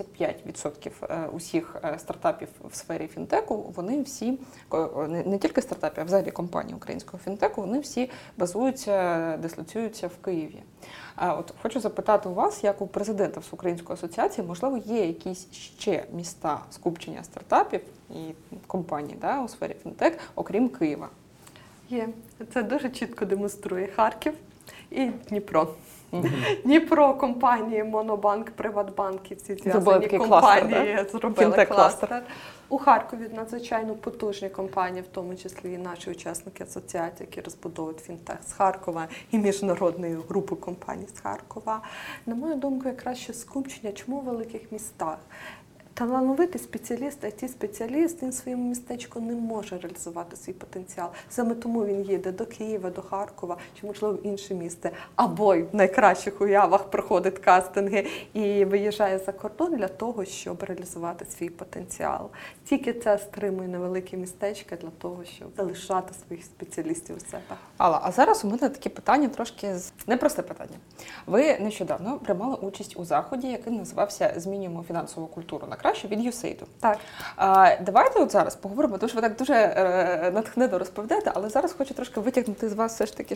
75% усіх стартапів в сфері фінтеку, вони всі, не тільки стартапів, а взагалі компанії українського фінтеку, вони всі базуються, дислоцюються в Києві. От хочу запитати у вас, як у президента Всеукраїнської асоціації, можливо, є якісь ще міста скупчення стартапів і компаній у сфері фінтек, окрім Києва? Є. Це дуже чітко демонструє Харків і Дніпро. Дніпро, компанії, Монобанк, Приватбанк і всі зв'язані компанії зробили кластер. У Харкові надзвичайно потужні компанії, в тому числі і наші учасники асоціації, які розбудовують фінтех з Харкова і міжнародної групи компаній з Харкова. На мою думку, якраз ще скупчення, чому в великих містах? Талановитий спеціаліст, IT-спеціаліст, він в своєму містечку не може реалізувати свій потенціал. Саме тому він їде до Києва, до Харкова чи, можливо, в інше місце. Або в найкращих уявах проходить кастинги і виїжджає за кордон для того, щоб реалізувати свій потенціал. Тільки це стримує невеликі містечка для того, щоб залишати своїх спеціалістів у себе. Алла, а зараз у мене таке питання трошки непросте питання. Ви нещодавно приймали участь у заході, який називався «Змінюємо фінансову культуру на краще» від USAID. Так. Давайте от зараз поговоримо, тому що ви так дуже натхненно розповідаєте, але зараз хочу трошки витягнути з вас все ж таки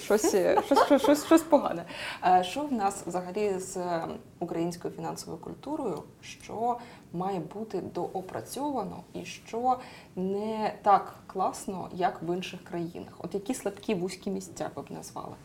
щось погане. Що в нас взагалі з українською фінансовою культурою, що має бути доопрацьовано і що не так класно, як в інших країнах? От які слабкі вузькі місця ви б назвали?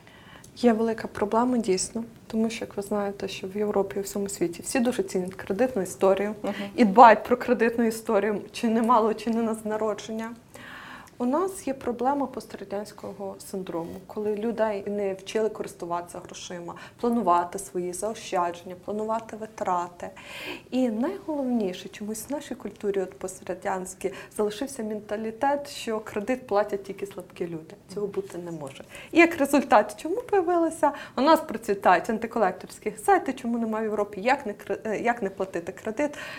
Є велика проблема, дійсно, тому що, як ви знаєте, що в Європі і в всьому світі всі дуже цінять кредитну історію і дбають про кредитну історію, чи не мало, чи не з народження. У нас є проблема пострадянського синдрому, коли людей не вчили користуватися грошима, планувати свої заощадження, планувати витрати. І найголовніше, чомусь в нашій культурі пострадянській залишився менталітет, що кредит платять тільки слабкі люди. Цього бути не може. І як результат, чому появилося? У нас процвітають антиколекторські сайти, чому немає в Європі, як не платити кредит.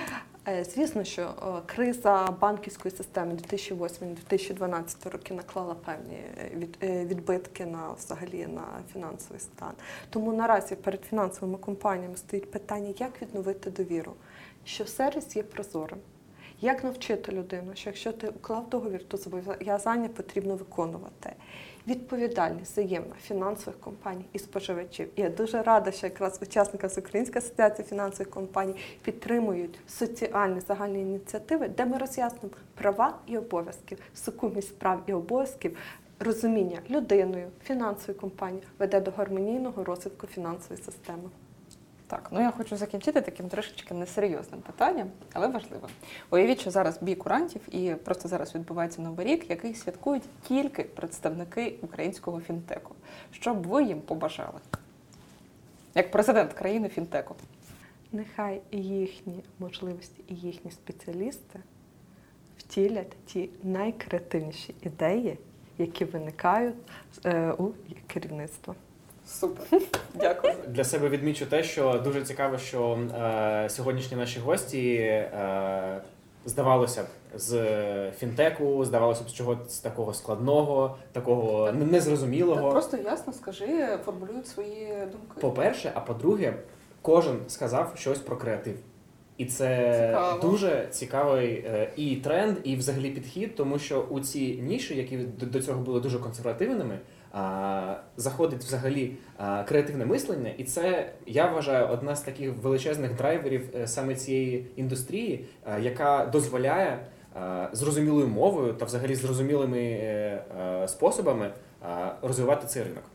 Звісно, що криза банківської системи 2008-2012 роки наклала певні відбитки взагалі на фінансовий стан. Тому наразі перед фінансовими компаніями стоїть питання, як відновити довіру, що сервіс є прозорим. Як навчити людину, що якщо ти уклав договір, то зобов'язання потрібно виконувати. Відповідальність взаємна фінансових компаній і споживачів. І я дуже рада, що якраз учасники Всеукраїнської асоціації фінансових компаній підтримують соціальні загальні ініціативи, де ми роз'яснимо права і обов'язки, сукупність прав і обов'язків, розуміння людиною, фінансової компанії веде до гармонійного розвитку фінансової системи. Так, я хочу закінчити таким трошечки несерйозним питанням, але важливим. Уявіть, що зараз бій курантів і просто зараз відбувається Новий рік, який святкують тільки представники українського фінтеку. Що б ви їм побажали? Як президент країни фінтеку. Нехай їхні можливості і їхні спеціалісти втілять ті найкреативніші ідеї, які виникають у керівництва. Супер, дякую. Для себе відмічу те, що дуже цікаво, що сьогоднішні наші гості, здавалося б, з фінтеку, здавалося б, з чогось такого складного, такого незрозумілого. Так просто ясно скажи, формулюють свої думки. По-перше, а по-друге, кожен сказав щось про креатив. І це цікаво. Дуже цікавий і тренд, і взагалі підхід, тому що у ці ніші, які до цього були дуже консервативними, заходить взагалі креативне мислення, і це, я вважаю, одна з таких величезних драйверів саме цієї індустрії, яка дозволяє зрозумілою мовою та взагалі зрозумілими способами розвивати цей ринок.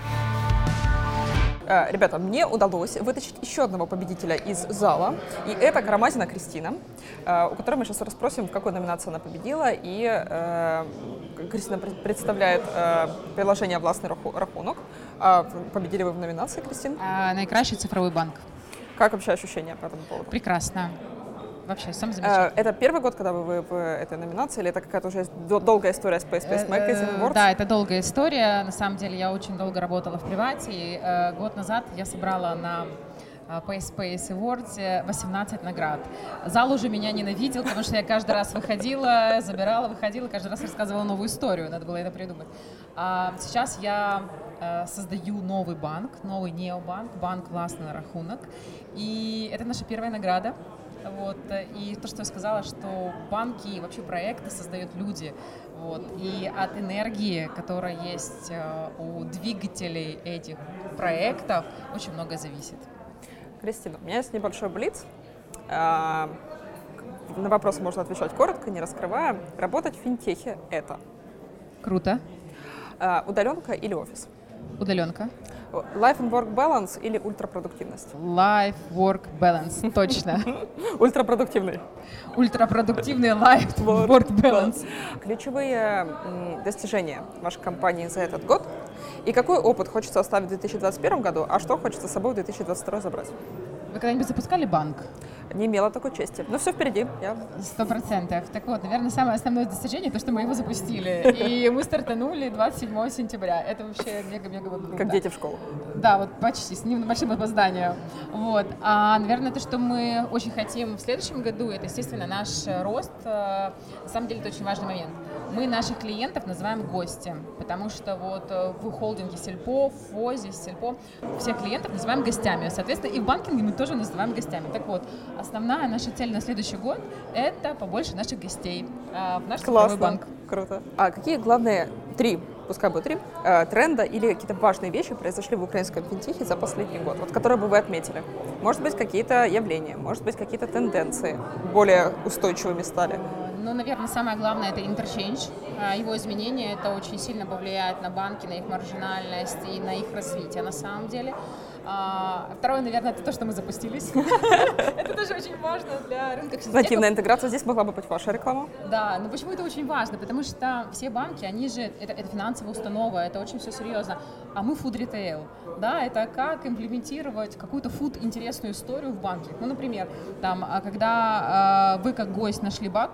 Ребята, мне удалось вытащить еще одного победителя из зала, и это Карамазина Кристина, у которой мы сейчас расспросим, в какой номинации она победила, и Кристина представляет приложение «Власний рахунок». Победили вы в номинации, Кристина? Найкращий цифровой банк. Как вообще ощущения по этому поводу? Прекрасно. Вообще, сам замечательный. Это первый год, когда вы в этой номинации, или это какая-то уже долгая история с PSPS Magazine Awards? Да, это долгая история. На самом деле, я очень долго работала в привате. И, год назад я собрала на PSPS Awards 18 наград. Зал уже меня ненавидел, потому что я каждый раз выходила, забирала, выходила, каждый раз рассказывала новую историю. Надо было это придумать. А сейчас я создаю новый банк, новый необанк, банк «Власний рахунок». И это наша первая награда. Вот. И то, что я сказала, что банки и вообще проекты создают люди. Вот. И от энергии, которая есть у двигателей этих проектов, очень много зависит. Кристина, у меня есть небольшой блиц. На вопросы можно отвечать коротко, не раскрывая. Работать в финтехе – это? Круто. Удаленка или офис? Удаленка. Life and work balance или ультрапродуктивность? Life, work, balance, точно. Ультрапродуктивный. Ультрапродуктивный life, work, balance. Ключевые достижения вашей компании за этот год и какой опыт хочется оставить в 2021 году, а что хочется с собой в 2022 забрать? Вы когда-нибудь запускали банк? Не имела такой чести. Но все впереди. 100%. Так вот, наверное, самое основное достижение, то, что мы его запустили. И мы стартанули 27 сентября. Это вообще мега-мега круто. Как дети в школу. Да, вот почти, с небольшим опозданием. Вот. А, наверное, то, что мы очень хотим в следующем году, это, естественно, наш рост. На самом деле, это очень важный момент. Мы наших клиентов называем гости, потому что вот в холдинге Сельпо, в ФОЗе, Сельпо, всех клиентов называем гостями. Соответственно, и в банкинге мы тоже называем гостями. Так вот, основная наша цель на следующий год – это побольше наших гостей в наш цифровой банк. Круто. А какие главные пускай будет три, тренда или какие-то важные вещи произошли в украинском финтехе за последний год, вот, которые бы вы отметили? Может быть, какие-то явления, может быть, какие-то тенденции более устойчивыми стали? Ну, наверное, самое главное – это интерчейндж. Его изменение, это очень сильно повлияет на банки, на их маржинальность и на их развитие на самом деле. Второе, наверное, это то, что мы запустились. Это тоже очень важно для рынка финтеха. Нативная интеграция, здесь могла бы быть ваша реклама. Да, но почему это очень важно? Потому что все банки, они же, это финансовая установа, это очень все серьезно. А мы food retail, да, это как имплементировать какую-то интересную историю в банке. Ну, например, там, когда вы как гость нашли банк,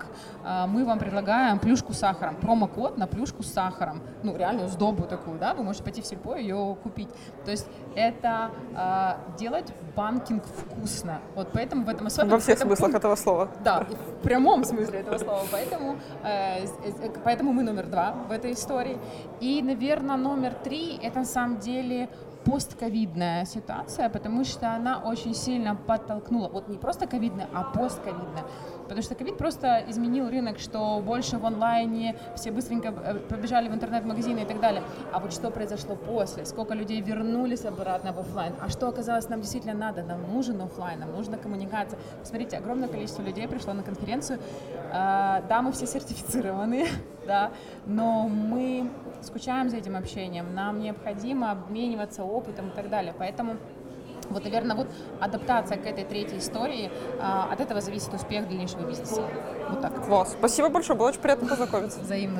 мы вам предлагаем плюшку с сахаром, промокод на плюшку с сахаром, ну, реальную сдобу такую, да, вы можете пойти в сельпо и ее купить. То есть это делать банкинг вкусно. Вот поэтому в этом особенно... Во всех смыслах этого слова. Да, и в прямом смысле этого слова. Поэтому мы номер 2 в этой истории. И, наверное, номер 3 — это на самом деле постковидная ситуация, потому что она очень сильно подтолкнула, вот не просто ковидная, а постковидная. Потому что ковид просто изменил рынок, что больше в онлайне, все быстренько побежали в интернет-магазины и так далее. А вот что произошло после? Сколько людей вернулись обратно в офлайн? А что оказалось нам действительно надо? Нам нужен офлайн, нам нужна коммуникация. Посмотрите, огромное количество людей пришло на конференцию. Да, мы все сертифицированные, да, но мы скучаем за этим общением, нам необходимо обмениваться опытом и так далее. Поэтому вот, наверное, вот адаптация к этой третьей истории, от этого зависит успех дальнейшего бизнеса. Вот так. Класс. Спасибо большое, было очень приятно познакомиться. Взаимно.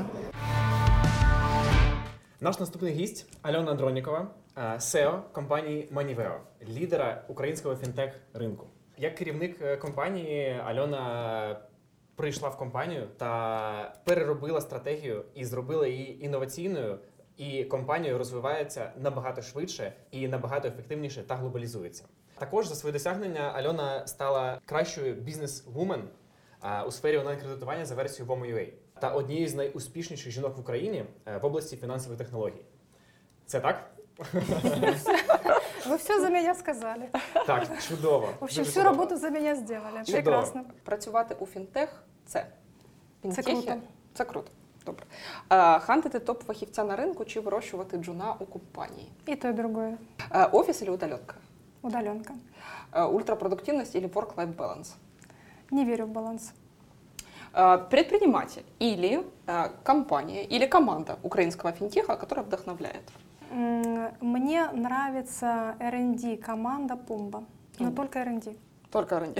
Наш наступний гість Альона Дронікова, SEO компанії Moniveo, лідера українського фінтех-ринку. Як керівник компанії, Альона прийшла в компанію та переробила стратегію і зробила її інноваційною, і компанія розвивається набагато швидше і набагато ефективніше та глобалізується. Також за свої досягнення Альона стала кращою бізнес-вумен у сфері онлайн-кредитування за версією WOMO.UA та однією з найуспішніших жінок в Україні в області фінансових технологій. Це так? Вы все за меня сказали. Так, чудово. В общем, Дуже всю чудово. работу за меня сделали. Чудово. Прекрасно. Працювати у фінтех – це фінтехи? круто. Це круто. Добре. Хантити топ-фахівця на ринку чи вирощувати джуна у компанії? И то, и другое. Офіс или удаленка? Удаленка. Ультрапродуктивность или work-life balance? Не верю в баланс. Предприниматель или компания, или команда украинского финтеха, которая вдохновляет? Мне нравится R&D команда Пумба, но только R&D. Только R&D.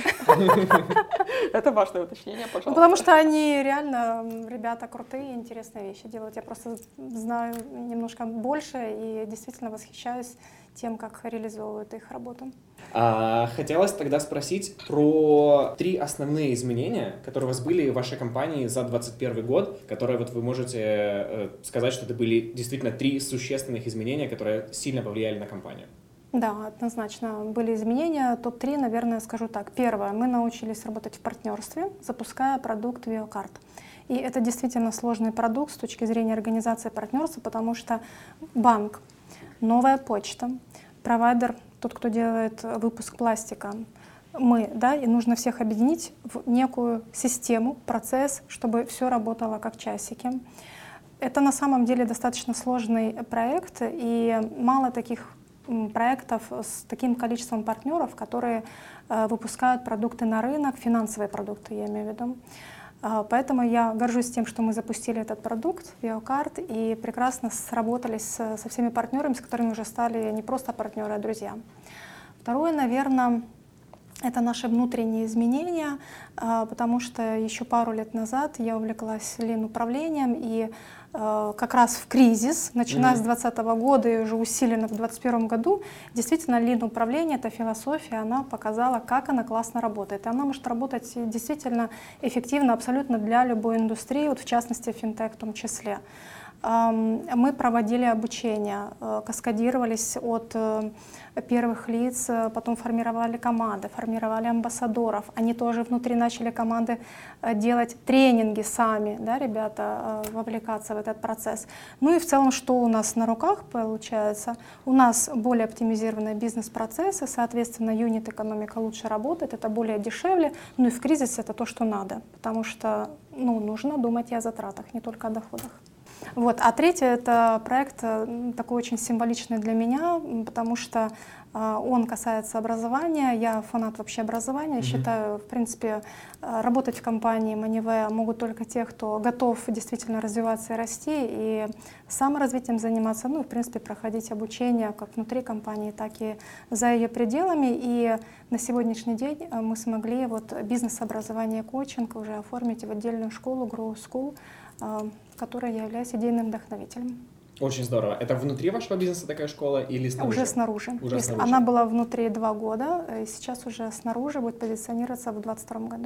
Это важное уточнение, пожалуйста. Потому что они реально, ребята, крутые, интересные вещи делают. Я просто знаю немножко больше и действительно восхищаюсь тем, как реализовывают их работу. Хотелось тогда спросить про 3 основные изменения, которые у вас были в вашей компании за 2021 год, которые вот вы можете сказать, что это были действительно 3 существенных изменения, которые сильно повлияли на компанию. Да, однозначно были изменения. Топ-3, наверное, скажу так. Первое, мы научились работать в партнерстве, запуская продукт VioCard. И это действительно сложный продукт с точки зрения организации партнерства, потому что банк, новая почта, провайдер, тот, кто делает выпуск пластика, мы, да, и нужно всех объединить в некую систему, процесс, чтобы все работало как часики. Это на самом деле достаточно сложный проект, и мало таких проектов с таким количеством партнеров, которые выпускают продукты на рынок, финансовые продукты, я имею в виду. Поэтому я горжусь тем, что мы запустили этот продукт, VioCard, и прекрасно сработались со всеми партнерами, с которыми уже стали не просто партнеры, а друзья. Второе, наверное, это наши внутренние изменения, потому что еще пару лет назад я увлеклась лин-управлением, и как раз в кризис, начиная с 2020 года и уже усиленно в 2021 году, действительно лин-управление, эта философия, она показала, как она классно работает. И она может работать действительно эффективно абсолютно для любой индустрии, вот в частности финтех в том числе. Мы проводили обучение, каскадировались от первых лиц, потом формировали команды, формировали амбассадоров. Они тоже внутри начали команды делать тренинги сами, да, ребята, вовлекаться в этот процесс. Ну и в целом, что у нас на руках получается? У нас более оптимизированные бизнес-процессы, соответственно, юнит-экономика лучше работает, это более дешевле, ну и в кризисе это то, что надо, потому что нужно думать и о затратах, не только о доходах. Вот. А третье — это проект такой очень символичный для меня, потому что он касается образования. Я фанат вообще образования. Считаю, в принципе, работать в компании Moniveo могут только те, кто готов действительно развиваться и расти, и саморазвитием заниматься, ну и, в принципе, проходить обучение как внутри компании, так и за ее пределами. И на сегодняшний день мы смогли вот бизнес-образование, коучинг уже оформить в отдельную школу, Grow School, которой я являюсь идейным вдохновителем. Очень здорово. Это внутри вашего бизнеса такая школа или снаружи? Уже снаружи. Уже снаружи. Она была внутри 2 года, и сейчас уже снаружи будет позиционироваться в 2022 году.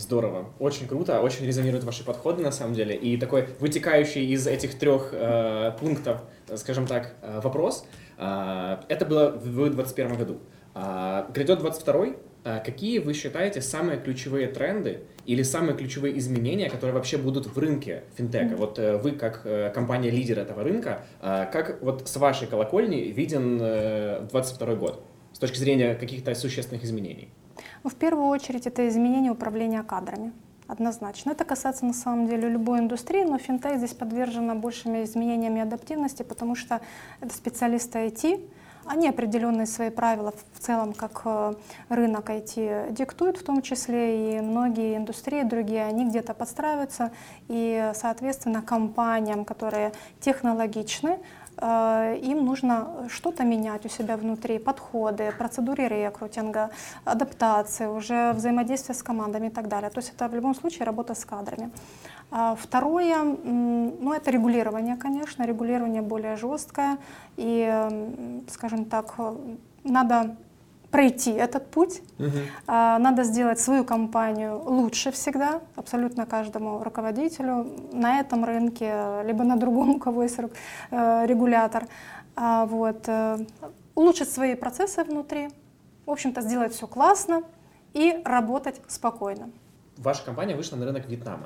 Здорово, очень круто, очень резонируют ваши подходы на самом деле. И такой вытекающий из этих 3 пунктов, скажем так, вопрос. Это было в 2021 году. Грядет 2022. Какие вы считаете самые ключевые тренды или самые ключевые изменения, которые вообще будут в рынке финтеха? Вот вы как компания-лидер этого рынка, как вот с вашей колокольни виден 2022 год с точки зрения каких-то существенных изменений? Ну, в первую очередь это изменение управления кадрами. Однозначно. Это касается на самом деле любой индустрии, но финтех здесь подвержена большими изменениями и адаптивности, потому что это специалисты IT, они определенные свои правила в целом, как рынок IT диктует в том числе, и многие индустрии другие, они где-то подстраиваются, и, соответственно, компаниям, которые технологичны, им нужно что-то менять у себя внутри, подходы, процедуры рекрутинга, адаптации, уже взаимодействие с командами и так далее. То есть это в любом случае работа с кадрами. Второе, ну, это регулирование, конечно, регулирование более жесткое, и, скажем так, надо пройти этот путь, надо сделать свою компанию лучше всегда, абсолютно каждому руководителю на этом рынке, либо на другом, у кого есть регулятор, вот, улучшить свои процессы внутри, в общем-то, сделать все классно и работать спокойно. Ваша компания вышла на рынок Вьетнама.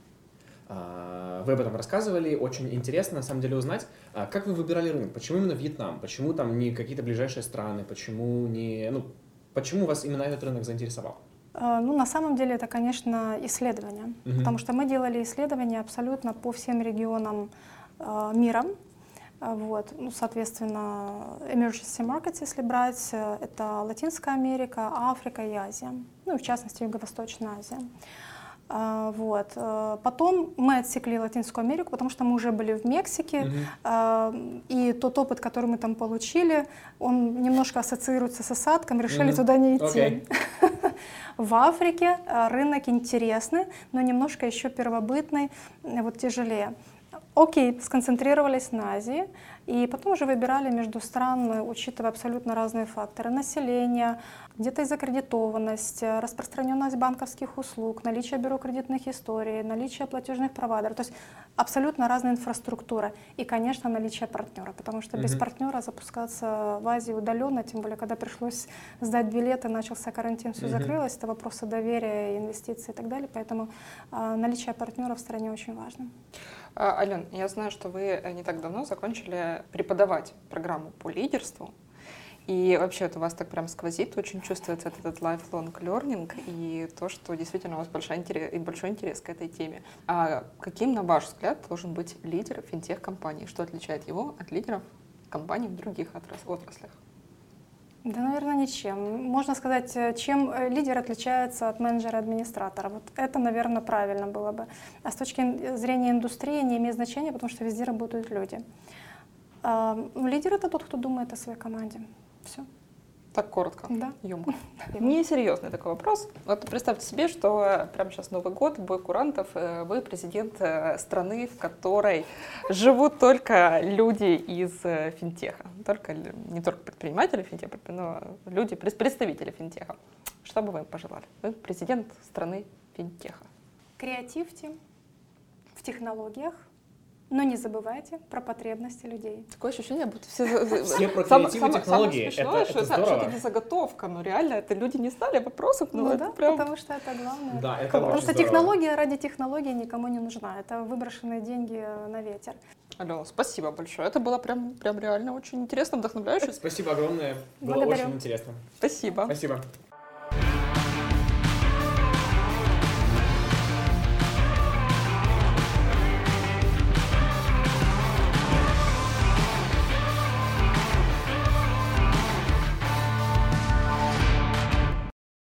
Вы об этом рассказывали, очень интересно на самом деле узнать, как вы выбирали рынок, почему именно Вьетнам, почему там не какие-то ближайшие страны, почему вас именно этот рынок заинтересовал? Ну, на самом деле это, конечно, исследования, потому что мы делали исследования абсолютно по всем регионам мира. Вот. Ну, соответственно, emergency markets, если брать, это Латинская Америка, Африка и Азия, ну и в частности Юго-Восточная Азия. Вот. Потом мы отсекли Латинскую Америку, потому что мы уже были в Мексике, и тот опыт, который мы там получили, он немножко ассоциируется с осадком, решили туда не идти. В Африке рынок интересный, но немножко еще первобытный, вот тяжелее. Окей, сконцентрировались на Азии, и потом уже выбирали между стран, учитывая абсолютно разные факторы: население, где-то и закредитованность, распространенность банковских услуг, наличие бюро кредитных историй, наличие платежных провайдеров, то есть абсолютно разная инфраструктура и, конечно, наличие партнера, потому что без партнера запускаться в Азии удаленно, тем более, когда пришлось сдать билеты, начался карантин, все закрылось, это вопросы доверия, инвестиций и так далее, поэтому наличие партнера в стране очень важно. Ален, я знаю, что вы не так давно закончили преподавать программу по лидерству. И вообще у вас так прям сквозит, очень чувствуется этот lifelong learning и то, что действительно у вас большой интерес к этой теме. А каким, на ваш взгляд, должен быть лидер финтех-компании? Что отличает его от лидеров компаний в других отраслях? Да, наверное, ничем. Можно сказать, чем лидер отличается от менеджера-администратора. Вот это, наверное, правильно было бы. А с точки зрения индустрии не имеет значения, потому что везде работают люди. Лидер — это тот, кто думает о своей команде. Все. Так коротко, да, ёмко. Несерьезный такой вопрос. Вот представьте себе, что прямо сейчас Новый год, бой курантов, вы президент страны, в которой живут только люди из финтеха. Не только предприниматели финтеха, но люди, представители финтеха. Что бы вы им пожелали? Вы президент страны финтеха. Креативьте в технологиях, но не забывайте про потребности людей. Такое ощущение, будто все про креатив и технологии. Это здорово. Это не заготовка, но реально это люди не знали вопросов. Ну да, прям... потому что это главное. Да, это потому что здорово. Технология ради технологии никому не нужна. Это выброшенные деньги на ветер. Алена, спасибо большое. Это было прям реально очень интересно, вдохновляюще. Спасибо огромное. Было Благодарю. очень интересно. Спасибо. Спасибо.